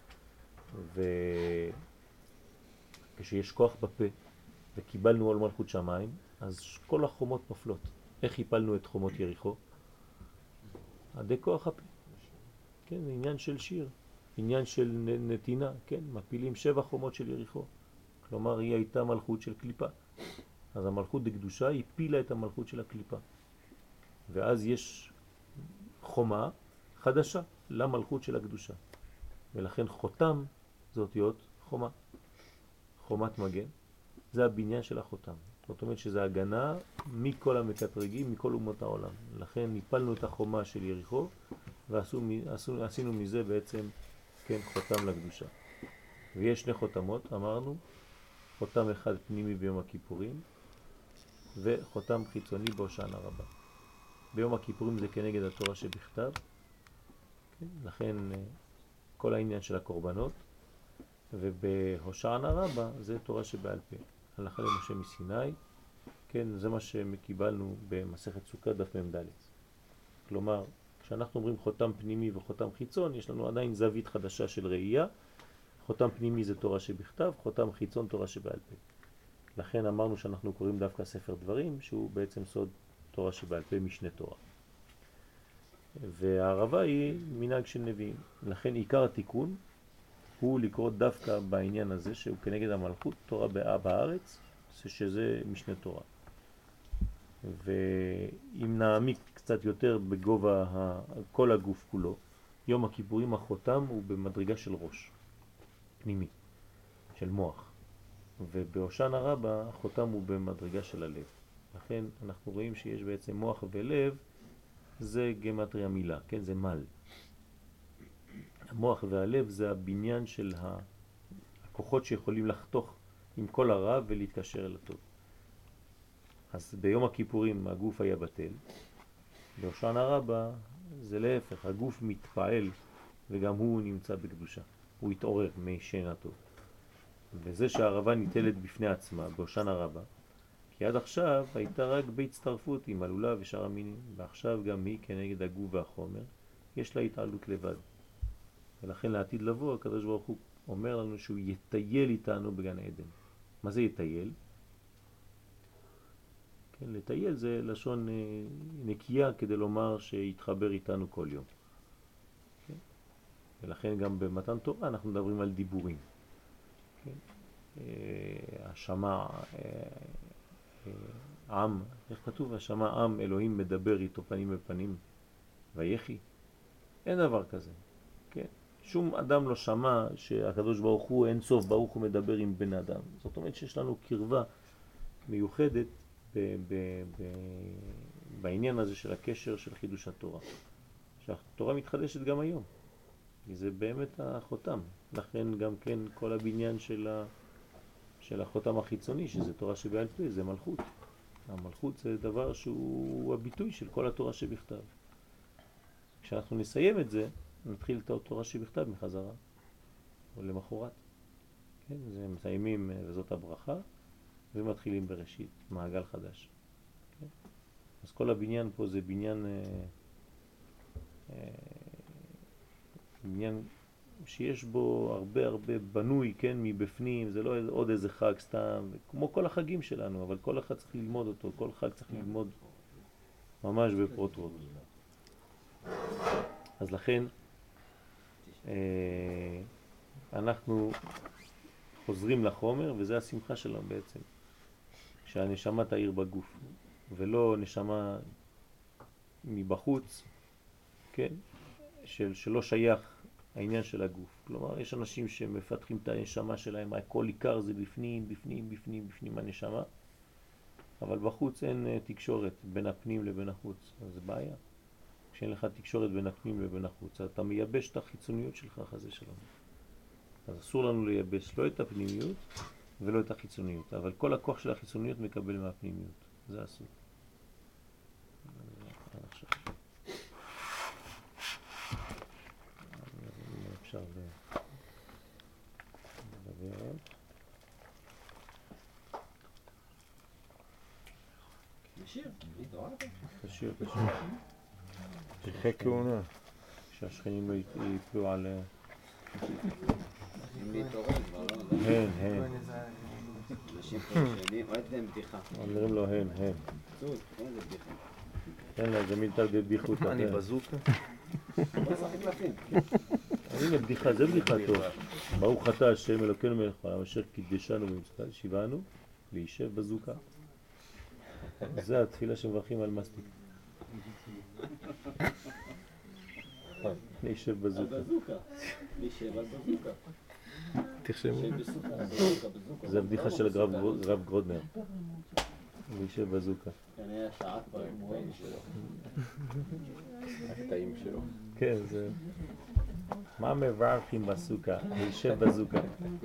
וכשיש כוח בפה וקיבלנו עול מלכות שמיים, אז כל החומות נופלות. איך הפלנו את חומות יריחו? עדי כוח הפה. כן, זה עניין של שיר, עניין של נתינה, כן, מפילים 7 חומות של יריחו. כלומר, היא הייתה מלכות של קליפה. אז המלכות בקדושה הפילה את המלכות של הקליפה. ואז יש חומה חדשה למלכות של הקדושה. ולכן חותם זה אותיות חומה. חומת מגן. זה הבניין של החותם. זאת אומרת שזה הגנה מכל המקטרגים, מכל אומות העולם. לכן ניפלנו את החומה של יריחו ועשינו מזה בעצם, כן, חותם לקדושה. ויש 2 חותמות, אמרנו, חותם אחד פנימי ביום הכיפורים וחותם חיצוני בהושענא רבה. ביום הכיפורים זה כנגד התורה שבכתב, כן? לכן כל העניין של הקורבנות, ובהושענא רבה זה תורה שבעל פה. הלכה למשה מסיני, כן, זה מה שקיבלנו במסכת סוכה דף מ"ד. כלומר, כשאנחנו אומרים חותם פנימי וחותם חיצון, יש לנו עדיין זווית חדשה של ראייה. חותם פנימי זה תורה שבכתב, חותם חיצון תורה שבעל פה. לכן אמרנו שאנחנו קוראים דווקא ספר דברים, שהוא בעצם סוד תורה שבעל פה, משנה תורה. והערבה היא מנהג של נביאים. לכן עיקר התיקון הוא לקרוא דווקא בעניין הזה, שהוא כנגד המלכות, תורה בארץ, שזה משנה תורה. ואם נעמיק קצת יותר בגובה כל הגוף כולו, יום הכיפורים החותם הוא במדרגה של ראש, פנימי, של מוח. ובהושענא רבה החותם הוא במדרגה של הלב. לכן אנחנו רואים שיש בעצם מוח ולב, זה גמטריה מילה, כן, זה מל. המוח והלב זה הבניין של הכוחות שיכולים לחתוך עם כל הרע ולהתקשר אל הטוב. אז ביום הכיפורים הגוף היה בטל, בהושענא רבה זה להפך, הגוף מתפעל וגם הוא נמצא בקדושה, הוא התעורר משנתו. וזה שהערבה ניטלת בפני עצמה בהושענא רבה, כי עד עכשיו הייתה רק בהצטרפות עם הלולה ושאר המינים, ועכשיו גם היא כנגד הגוף והחומר, יש לה התעלות לבד. ולכן לעתיד לבוא, הקדוש ברוך הוא אומר לנו שהוא יטייל איתנו בגן עדן. מה זה יטייל? כן, לטייל זה לשון נקייה כדי לומר שיתחבר איתנו כל יום. כן? ולכן גם במתן תורה אנחנו מדברים על דיבורים. כן? השמע עם, איך כתוב? השמע עם, אלוהים מדבר איתו פנים בפנים ויחי. אין דבר כזה. כן? שום אדם לא שמע שהקדוש ברוך הוא אין סוף ברוך הוא מדבר עם בן אדם. זאת אומרת שיש לנו קרבה מיוחדת בעניין הזה של הקשר של חידוש התורה. שהתורה מתחדשת גם היום. זה באמת החותם. לכן גם כן כל הבניין של החותם החיצוני, שזה תורה שבעל פה, זה מלכות. המלכות זה דבר שהוא הביטוי של כל התורה שבכתב. כשאנחנו נסיים את זה, נתחיל את התורה שבכתב מחזרה, או למחרת. כן, זה מסיימים, וזאת הברכה, ומתחילים בראשית, מעגל חדש. כן? אז כל הבניין פה זה בניין, בניין שיש בו הרבה בנוי, כן, מבפנים, זה לא עוד איזה חג סתם, כמו כל החגים שלנו, אבל כל אחד צריך ללמוד אותו, כל חג צריך ללמוד ממש בפרוטרוט. אז לכן אנחנו חוזרים לחומר, וזה השמחה שלנו בעצם, שהנשמה תאיר בגוף, ולא נשמה מבחוץ, כן, שלא שייך העניין של הגוף. כלומר, יש אנשים שמפתחים את הנשמה שלהם, הכל עיקר זה בפנים, בפנים, בפנים, בפנים הנשמה, אבל בחוץ אין תקשורת בין הפנים לבין החוץ, אז זה בעיה. כשאין לך תקשורת בין הפנים לבין החוץ, אתה מייבש את החיצוניות שלך, חזה שלום. אז אסור לנו לייבש לא את הפנימיות ולא את החיצוניות, אבל כל הכוח של החיצוניות מקבל מהפנימיות, זה אסור. עכשיו. אפשר לדבר עוד. תשאיר, התעוררת? תשאיר. פרחי כהונה. שהשכנים לא ייפלו על... אם להתעורר כבר לא... הן. אנשים פה שנים, ראיתי להם בדיחה. אומרים לו הן. צוד, איזה בדיחה. אין לה, זה מילתא דבדיחותא. מה, אני בזוקה? בוא נשחק קלפים. הנה בדיחה, זה בדיחה טוב. ברוך אתה השם אלוקינו מלך העולם אשר קידשנו במצוותיו ציוונו להישב בזוקה. זה התפילה שמברכים על מסטיק. להישב בזוקה. להישב על בזוקה. תרשמו. זה הבדיחה של הרב גרודנר. להישב בזוקה. כנראה שעה כבר עם רואים שלו. הקטעים שלו. כן, זה... מה מברכים בסוכה? להישב בזוקה.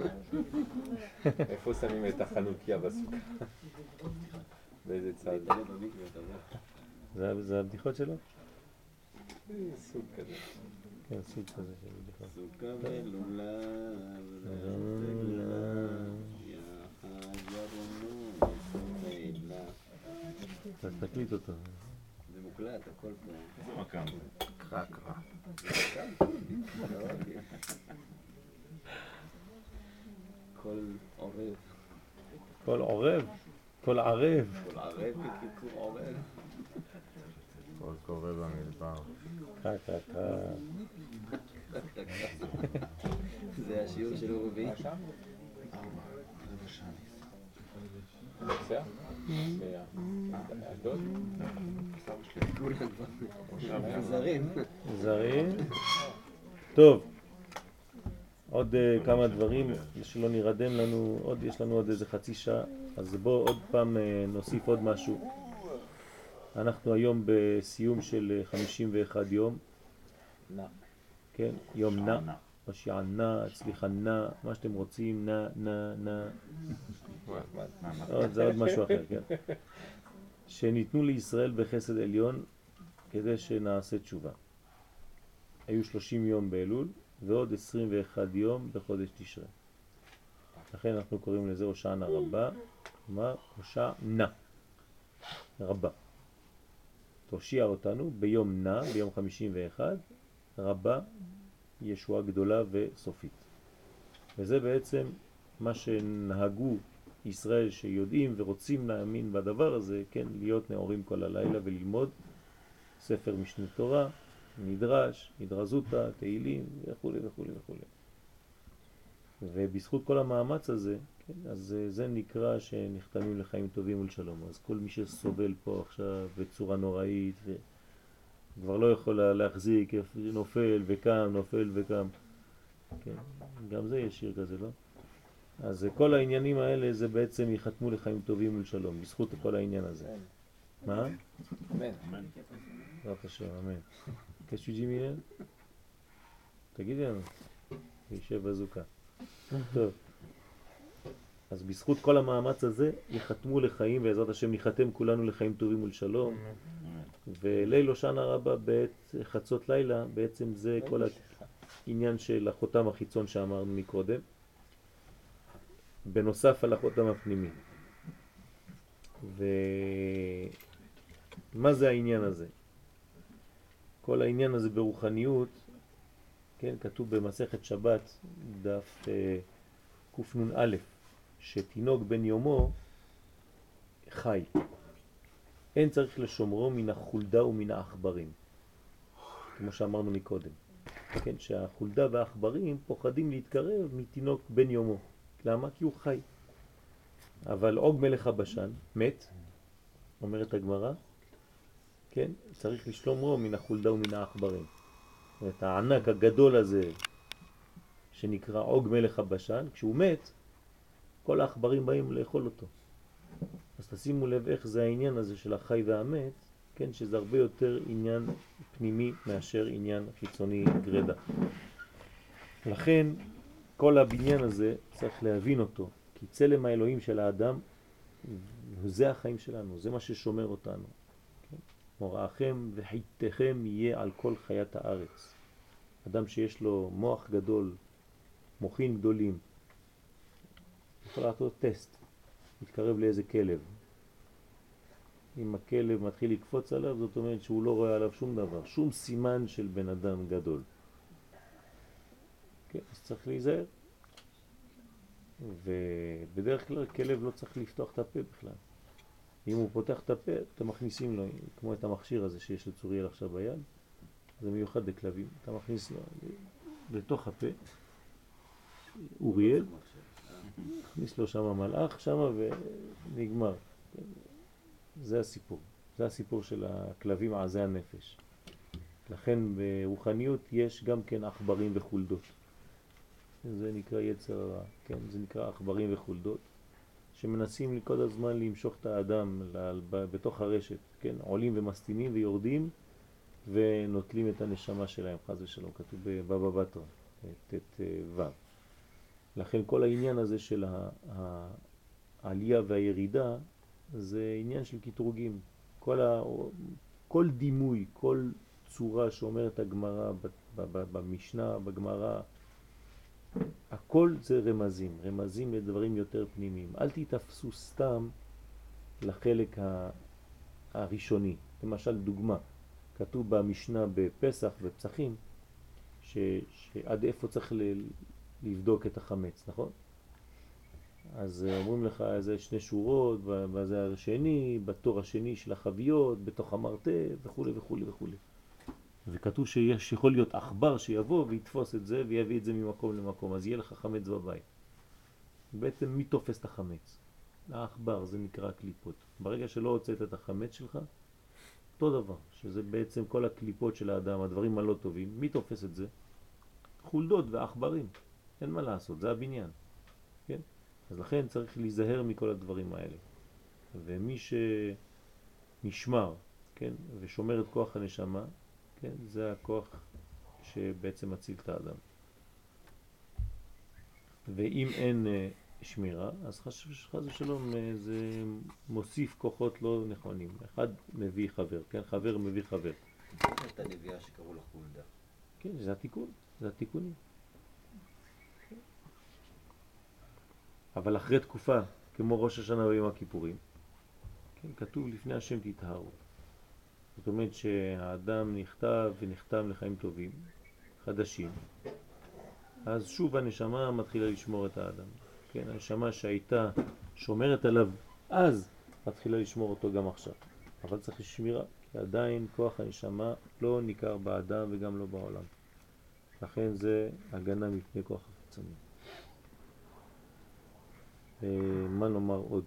איפה שמים את החנוכיה בסוכה? באיזה צד? זה הבדיחות שלו? סוג כזה. כן, סוג כזה של בדיחות. סוכה ולולה אז תקליט אותו. זה מוקלט, הכל פה. זה מקם. קרא. כל עורב. כל עורב? כל ערב. כל ערב בקיצור עורב. כל קורא במדבר. קרא. זה השיעור של רביעי. נוסע? מהדוד? כולם כבר זרים. טוב. עוד כמה דברים שלא נרדם לנו, יש לנו עוד איזה חצי שעה, אז בואו עוד פעם נוסיף עוד משהו. אנחנו היום בסיום של 51 יום. כן, יום נע, משיעה נע, הצליחה נע, מה שאתם רוצים, נע. זה עוד משהו אחר, כן. שניתנו לישראל בחסד עליון כדי שנעשה תשובה. היו 30 יום באלול ועוד 21 יום בחודש תשרי. לכן אנחנו קוראים לזה הושענא רבה, כלומר הושענא רבה. תושיע אותנו ביום נע, ביום 51, רבה, ישועה גדולה וסופית. וזה בעצם מה שנהגו ישראל שיודעים ורוצים להאמין בדבר הזה, כן, להיות נאורים כל הלילה וללמוד ספר משנה תורה, מדרש, מדרזותא, תהילים וכו'. ובזכות כל המאמץ הזה, כן, אז זה נקרא שנחתמים לחיים טובים ולשלום. אז כל מי שסובל פה עכשיו בצורה נוראית וכבר לא יכול להחזיק, נופל וקם, כן, גם זה יש שיר כזה, לא? אז כל העניינים האלה זה בעצם יחתמו לחיים טובים ולשלום, בזכות כל העניין הזה. מה? אמן. בעזרת השם, אמן. קשו ג'ימינל? תגידי לנו. להישב בזוקה. טוב. אז בזכות כל המאמץ הזה יחתמו לחיים, בעזרת השם נחתם כולנו לחיים טובים ולשלום. וליל הושענא רבה בעת חצות לילה, בעצם זה כל העניין של החותם החיצון שאמרנו מקודם. בנוסף על החותם הפנימי. ומה זה העניין הזה? כל העניין הזה ברוחניות, כן, כתוב במסכת שבת, דף קנ"א, שתינוק בן יומו חי. אין צריך לשומרו מן החולדה ומן העכברים, כמו שאמרנו מקודם. כן, שהחולדה והעכברים פוחדים להתקרב מתינוק בן יומו. למה? כי הוא חי. אבל עוג מלך הבשן מת, אומרת הגמרא, כן, צריך לשומרו מן החולדה ומן העכברים. את הענק הגדול הזה שנקרא עוג מלך הבשן, כשהוא מת, כל העכברים באים לאכול אותו. אז תשימו לב איך זה העניין הזה של החי והמת, כן, שזה הרבה יותר עניין פנימי מאשר עניין חיצוני גרדה. לכן כל הבניין הזה צריך להבין אותו, כי צלם האלוהים של האדם זה החיים שלנו, זה מה ששומר אותנו. כן? מוראכם וחיתכם יהיה על כל חיית הארץ. אדם שיש לו מוח גדול, מוחים גדולים, יכול לעשות טסט, מתקרב לאיזה כלב. אם הכלב מתחיל לקפוץ עליו, זאת אומרת שהוא לא רואה עליו שום דבר, שום סימן של בן אדם גדול. כן, אז צריך להיזהר. ובדרך כלל כלב לא צריך לפתוח את הפה בכלל. אם הוא פותח את הפה, אתם מכניסים לו, כמו את המכשיר הזה שיש לצוריאל עכשיו ביד, זה מיוחד לכלבים, אתה מכניס לו לתוך הפה, אוריאל, מכניס לו שם מלאך שם ונגמר. זה הסיפור. זה הסיפור של הכלבים עזי הנפש. לכן ברוחניות יש גם כן עכברים וחולדות. זה נקרא יצר הרע, כן? זה נקרא עכברים וחולדות, שמנסים כל הזמן למשוך את האדם בתוך הרשת, כן? עולים ומסתימים ויורדים ונוטלים את הנשמה שלהם, חס ושלום, כתוב בבבא בתרא, תת ו'. לכן כל העניין הזה של העלייה והירידה זה עניין של קטרוגים. כל דימוי, כל צורה שאומרת הגמרא במשנה, בגמרא, הכל זה רמזים, רמזים לדברים יותר פנימיים. אל תתפסו סתם לחלק הראשוני. למשל דוגמה, כתוב במשנה בפסח ופסחים, שעד איפה צריך לבדוק את החמץ, נכון? אז אומרים לך איזה 2 שורות, וזה השני, בתור השני של החביות, בתוך המרתף וכו' וכו' וכו'. וכתוב שיש יכול להיות עכבר שיבוא ויתפוס את זה ויביא את זה ממקום למקום, אז יהיה לך חמץ בבית. בעצם מי תופס את החמץ? העכבר, זה נקרא קליפות. ברגע שלא הוצאת את החמץ שלך, אותו דבר, שזה בעצם כל הקליפות של האדם, הדברים הלא טובים, מי תופס את זה? חולדות ועכברים, אין מה לעשות, זה הבניין. כן? אז לכן צריך להיזהר מכל הדברים האלה. ומי שנשמר, כן, ושומר את כוח הנשמה, כן, זה הכוח שבעצם מציל את האדם. ואם אין שמירה, אז חס ושלום זה מוסיף כוחות לא נכונים. אחד מביא חבר, כן, חבר מביא חבר. את הנביאה שקראו לה חולדה. כן, זה התיקון, זה התיקונים. אבל אחרי תקופה, כמו ראש השנה ויום הכיפורים, כן, כתוב לפני השם תטהרו. זאת אומרת שהאדם נכתב ונחתם לחיים טובים, חדשים, אז שוב הנשמה מתחילה לשמור את האדם. כן, הנשמה שהייתה שומרת עליו אז, מתחילה לשמור אותו גם עכשיו. אבל צריך שמירה, כי עדיין כוח הנשמה לא ניכר באדם וגם לא בעולם. לכן זה הגנה מפני כוח החיצוני. מה נאמר עוד?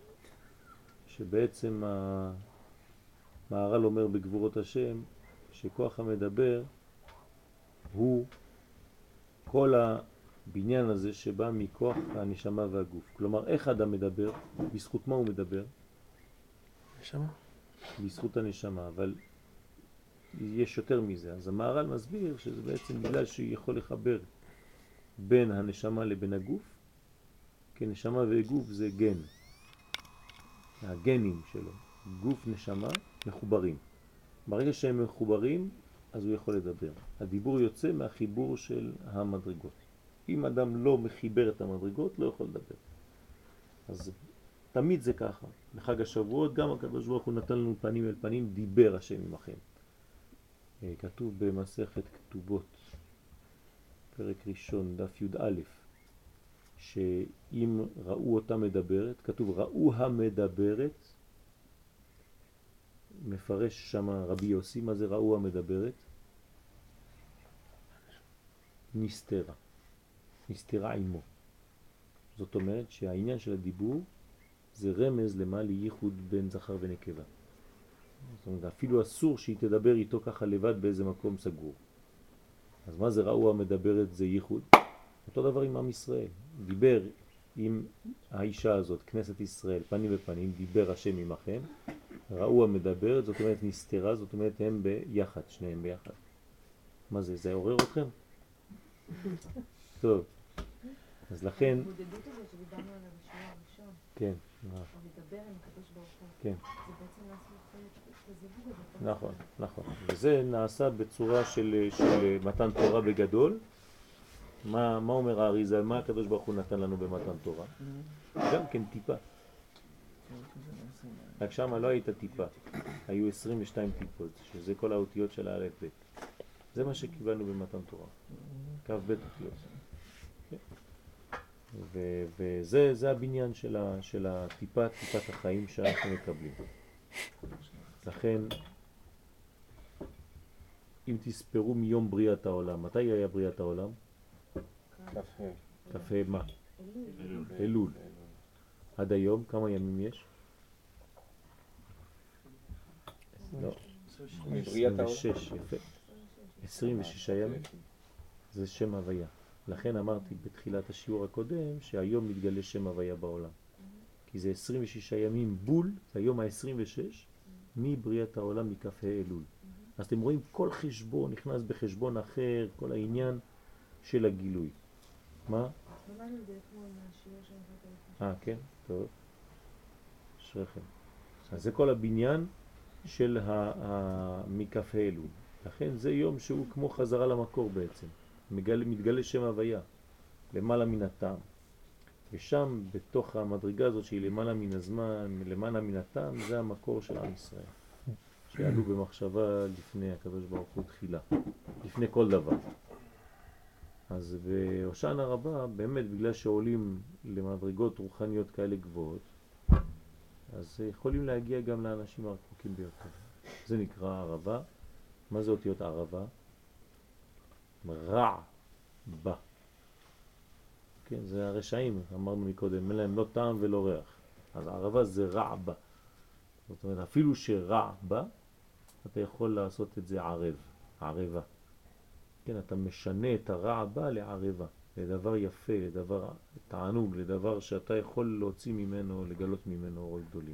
שבעצם המהר"ל אומר בגבורות השם שכוח המדבר הוא כל הבניין הזה שבא מכוח הנשמה והגוף. כלומר, איך האדם מדבר? בזכות מה הוא מדבר? נשמה. בזכות הנשמה, אבל יש יותר מזה. אז המהר"ל מסביר שזה בעצם בגלל שהוא יכול לחבר בין הנשמה לבין הגוף, כי נשמה וגוף זה גן. הגנים שלו, גוף נשמה, מחוברים. ברגע שהם מחוברים, אז הוא יכול לדבר. הדיבור יוצא מהחיבור של המדרגות. אם אדם לא מחיבר את המדרגות, לא יכול לדבר. אז תמיד זה ככה. בחג השבועות, גם הקדוש ברוך הוא נתן לנו פנים אל פנים, דיבר השם עמכם. כתוב במסכת כתובות, פרק ראשון, דף י"א, שאם ראו אותה מדברת, כתוב ראו המדברת, מפרש שם רבי יוסי, מה זה ראו המדברת? נסתרה, נסתרה עמו. זאת אומרת שהעניין של הדיבור זה רמז למה לייחוד בין זכר ונקבה. זאת אומרת, אפילו אסור שהיא תדבר איתו ככה לבד באיזה מקום סגור. אז מה זה ראו המדברת? זה ייחוד. אותו דבר עם עם ישראל. דיבר עם האישה הזאת, כנסת ישראל, פנים בפנים, דיבר השם עמכם, ראו המדבר, זאת אומרת נסתרה, זאת אומרת הם ביחד, שניהם ביחד. מה זה? זה עורר אתכם? טוב, אז לכן... ההתמודדות הזאת שדיברנו עליה בשיעור הראשון, כן, לדבר עם הקדוש ברוך הוא, כן. זה בעצם לעשות את הזיווג הזה. נכון, נכון. וזה נעשה בצורה של מתן תורה בגדול. מה אומר האריז"ל? מה הקדוש ברוך הוא נתן לנו במתן תורה? גם כן טיפה. רק שמה לא הייתה טיפה, היו 22 טיפות, שזה כל האותיות של האלף בית. זה מה שקיבלנו במתן תורה, קו בית אותיות. וזה הבניין של הטיפה, טיפת החיים שאנחנו מקבלים. לכן, אם תספרו מיום בריאת העולם, מתי היה בריאת העולם? כ"ה מה? אלול. עד היום, כמה ימים יש? לא, 26, יפה. 26 ימים. זה שם הוויה. לכן אמרתי בתחילת השיעור הקודם שהיום מתגלה שם הוויה בעולם. כי זה 26 ימים בול, זה היום ה-26 מבריאת העולם מכ"ה אלול. אז אתם רואים כל חשבון נכנס בחשבון אחר, כל העניין של הגילוי. מה? למדנו את זה אתמול מהשיעור של כן, טוב. אשריכם. אז זה כל הבניין של מכ"ה אלול. לכן זה יום שהוא כמו חזרה למקור בעצם. מתגלה שם הוויה, למעלה מן הטעם. ושם, בתוך המדרגה הזאת שהיא למעלה מן הזמן, למעלה מן הטעם, זה המקור של עם ישראל. שעלו במחשבה לפני הקדוש ברוך הוא תחילה, לפני כל דבר. אז בהושענא רבה, באמת בגלל שעולים למדרגות רוחניות כאלה גבוהות, אז יכולים להגיע גם לאנשים הרחוקים ביותר. זה נקרא ערבה. מה זה אותיות ערבה? רע בה. כן, זה הרשעים, אמרנו מקודם, אין להם לא טעם ולא ריח. אז ערבה זה רע בה. זאת אומרת, אפילו שרע בה, אתה יכול לעשות את זה ערב, ערבה. כן, אתה משנה את הרע בה לערבה, לדבר יפה, לדבר תענוג, לדבר שאתה יכול להוציא ממנו, לגלות ממנו אורות גדולים.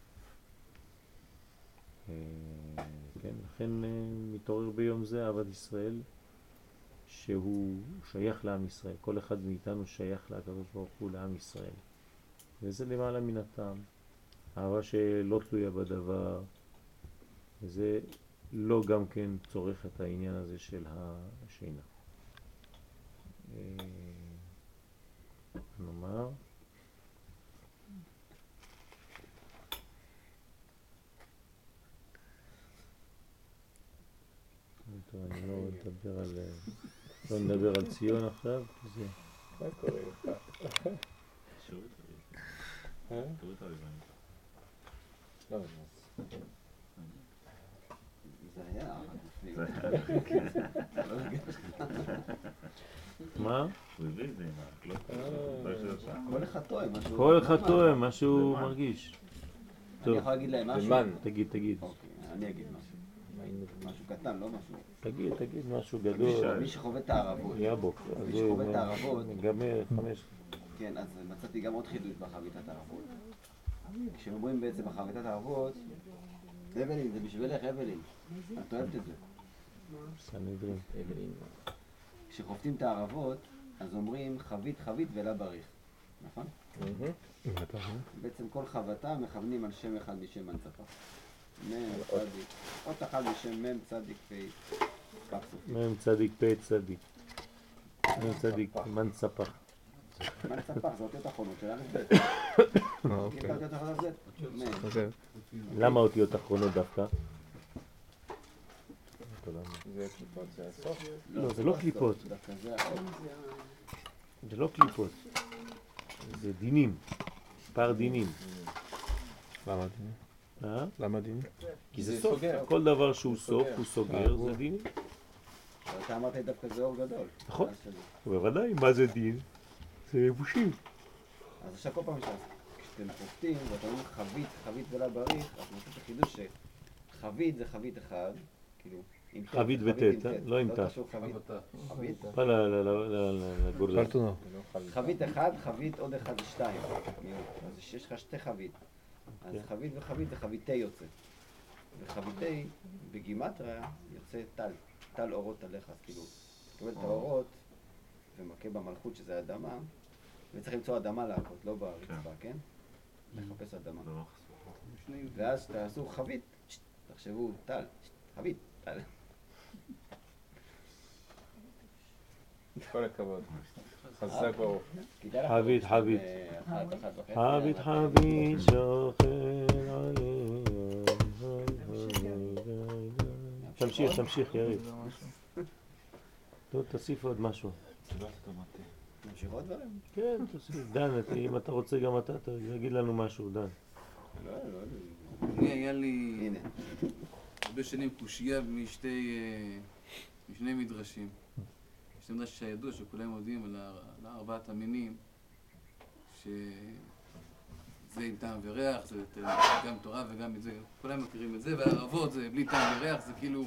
כן, לכן מתעורר ביום זה אהבת ישראל, שהוא שייך לעם ישראל. כל אחד מאיתנו שייך לקדוש ברוך הוא, לעם ישראל. וזה למעלה מן הטעם. אהבה שלא תלויה בדבר, וזה לא גם כן צורך את העניין הזה של השינה. נאמר, אני לא נדבר על ציון עכשיו, כי זה... מה קורה לך? לא, זה היה מה? הוא הביא את זה עם כל אחד טועה משהו. כל אחד טועה מה שהוא מרגיש. אני יכול להגיד להם משהו? תגיד. אוקיי, אני אגיד משהו. משהו קטן, לא משהו. תגיד משהו גדול. מי שחווה את הערבות. יבוק. מי שחווה את הערבות. נגמר 5. כן, אז מצאתי גם עוד חידוש בחביתת הערבות. כשאומרים בעצם בחביתת הערבות, אבלין, זה בשבילך אבלין. את אוהבת את זה. סנהדרין. כשחופטים את הערבות, אז אומרים חבית ולה בריך. נכון? בעצם כל חבטה מכוונים על שם אחד משם מנצפה. מם צדיק. עוד אחד משם מם צדיק פ' מם צדיק פ' צדיק. מם צדיק מנצפח. מנצפח, זה אותיות אחרונות של א' ב'. אוקיי. אותיות אחרונות ב'. למה אותיות אחרונות דווקא? זה קליפות, זה הסוף? לא, זה לא קליפות. זה לא קליפות. זה דינים. פער דינים. למה דינים? למה דינים? כי זה סוף. כל דבר שהוא סוף, הוא סוגר, זה דינים. אתה אמרת דווקא זה אור גדול. נכון. בוודאי, מה זה דין? זה יבושים. אז עכשיו כל פעם כשאתם חופטים ואתם אומרים חבית ולה בריך, אז נעשה את החידוש שחבית זה חבית אחד, כאילו עם ח', חבית חבית וט', עם ט'. לא עם ת'. קשור חבית. חבית. pas לגורדה. פלטונו. חבית אחד, חבית עוד אחד זה 2. אז יש לך 2 חבית. אז חבית וחבית זה חבית T יוצא. וחבית T בגימטריה יוצא טל. טל אורות עליך, אז כאילו, תקבל את האורות ומכה במלכות שזה אדמה, וצריך למצוא אדמה להכות, לא ברצפה, כן? לחפש אדמה. ואז תעשו חבית, תחשבו טל, חבית, טל. כל הכבוד. חזק ברוך. חבית, חבית. חבית, חבית, שוכן עליהם. תמשיך, יריב. טוב, תוסיף עוד משהו. נמשיך עוד דברים? כן, תוסיף. דן, אם אתה רוצה גם אתה, תגיד לנו משהו, דן. אני היה לי הרבה שנים קושייה משני מדרשים. יש מדרש שידוע שכולם יודעים על ארבעת המינים, שזה עם טעם וריח, זה גם תורה וגם את זה, כולם מכירים את זה, והערבות זה בלי טעם וריח, זה כאילו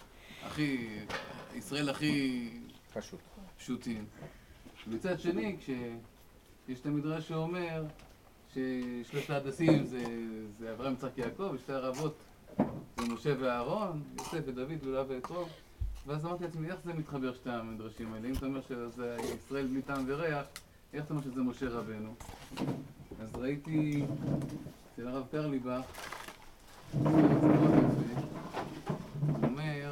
ישראל הכי פשוטים. מצד שני, כשיש את המדרש שאומר ששלושת ההדסים זה אברהם, יצחק, יעקב, ושתי הערבות זה משה ואהרון, יוסף ודוד ולאה ויתרו. ואז אמרתי לעצמי, איך זה מתחבר שתי המדרשים האלה? אם אתה אומר שזה ישראל בלי טעם וריח, איך אתה אומר שזה משה רבנו? אז ראיתי אצל הרב קרליבך, הוא אומר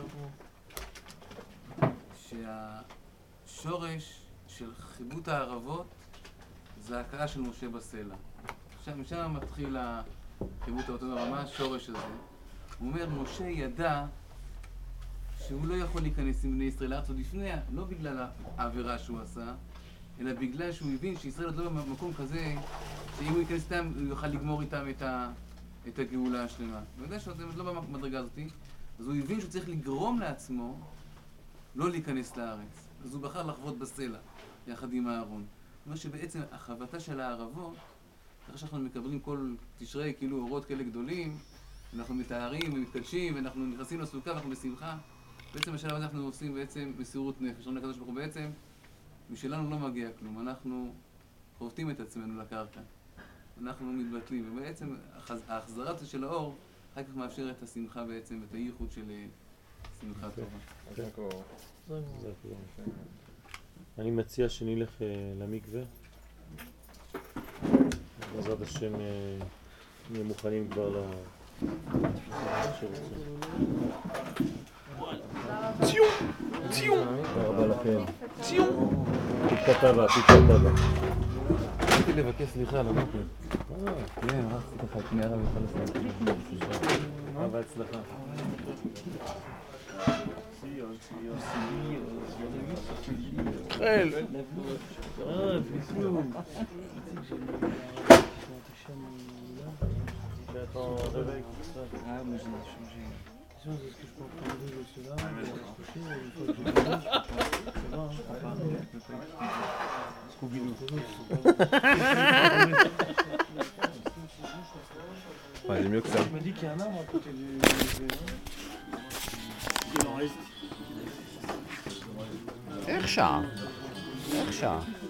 שהשורש של חיבוט הערבות זה ההכאה של משה בסלע. עכשיו, משם מתחיל החיבוט האותו דבר, מה השורש הזה? הוא אומר, משה ידע שהוא לא יכול להיכנס עם בני ישראל לארץ עוד לפני, לא בגלל העבירה שהוא עשה, אלא בגלל שהוא הבין שישראל עוד לא במקום כזה, שאם הוא ייכנס איתם, הוא יוכל לגמור איתם את הגאולה השלמה. הוא יודע שזה לא במדרגה הזאת, אז הוא הבין שהוא צריך לגרום לעצמו לא להיכנס לארץ. אז הוא בחר לחוות בסלע, יחד עם אהרון. זאת אומרת שבעצם החבטה של הערבות, אחרי שאנחנו מקבלים כל תשרי כאילו אורות כאלה גדולים, אנחנו מתארים ומתקדשים, ואנחנו נכנסים לסוכה ואנחנו בשמחה. בעצם בשלב הזה אנחנו עושים בעצם מסירות נפש. אומרים לקדוש ברוך הוא בעצם, משלנו לא מגיע כלום, אנחנו חובטים את עצמנו לקרקע. אנחנו מתבטלים, ובעצם ההחזרה של האור אחר כך מאפשר את השמחה בעצם, את הייחוד של שמחה טובה. אני מציע שנלך למקווה. בעזרת השם נהיה מוכנים כבר ציון! ציון! תודה רבה לכם. ציון! פיקת הבא. רציתי לבקש סליחה על המקווה. כן, רציתי לך, קני הרב יוכל לסיים. אהבה הצלחה. ציון. חל! בדיוק. J'attends un réveil comme ça. Ah, mais j'ai changé. Est-ce que je peux prendre deux de ceux-là? Une fois que je commence, ça va, hein, on parle, je peux pas expliquer. Scooby-Doo. Ouais, il est mieux que ça. Je me dis qu'il y a un arbre à côté du... Il en reste. איך שעה?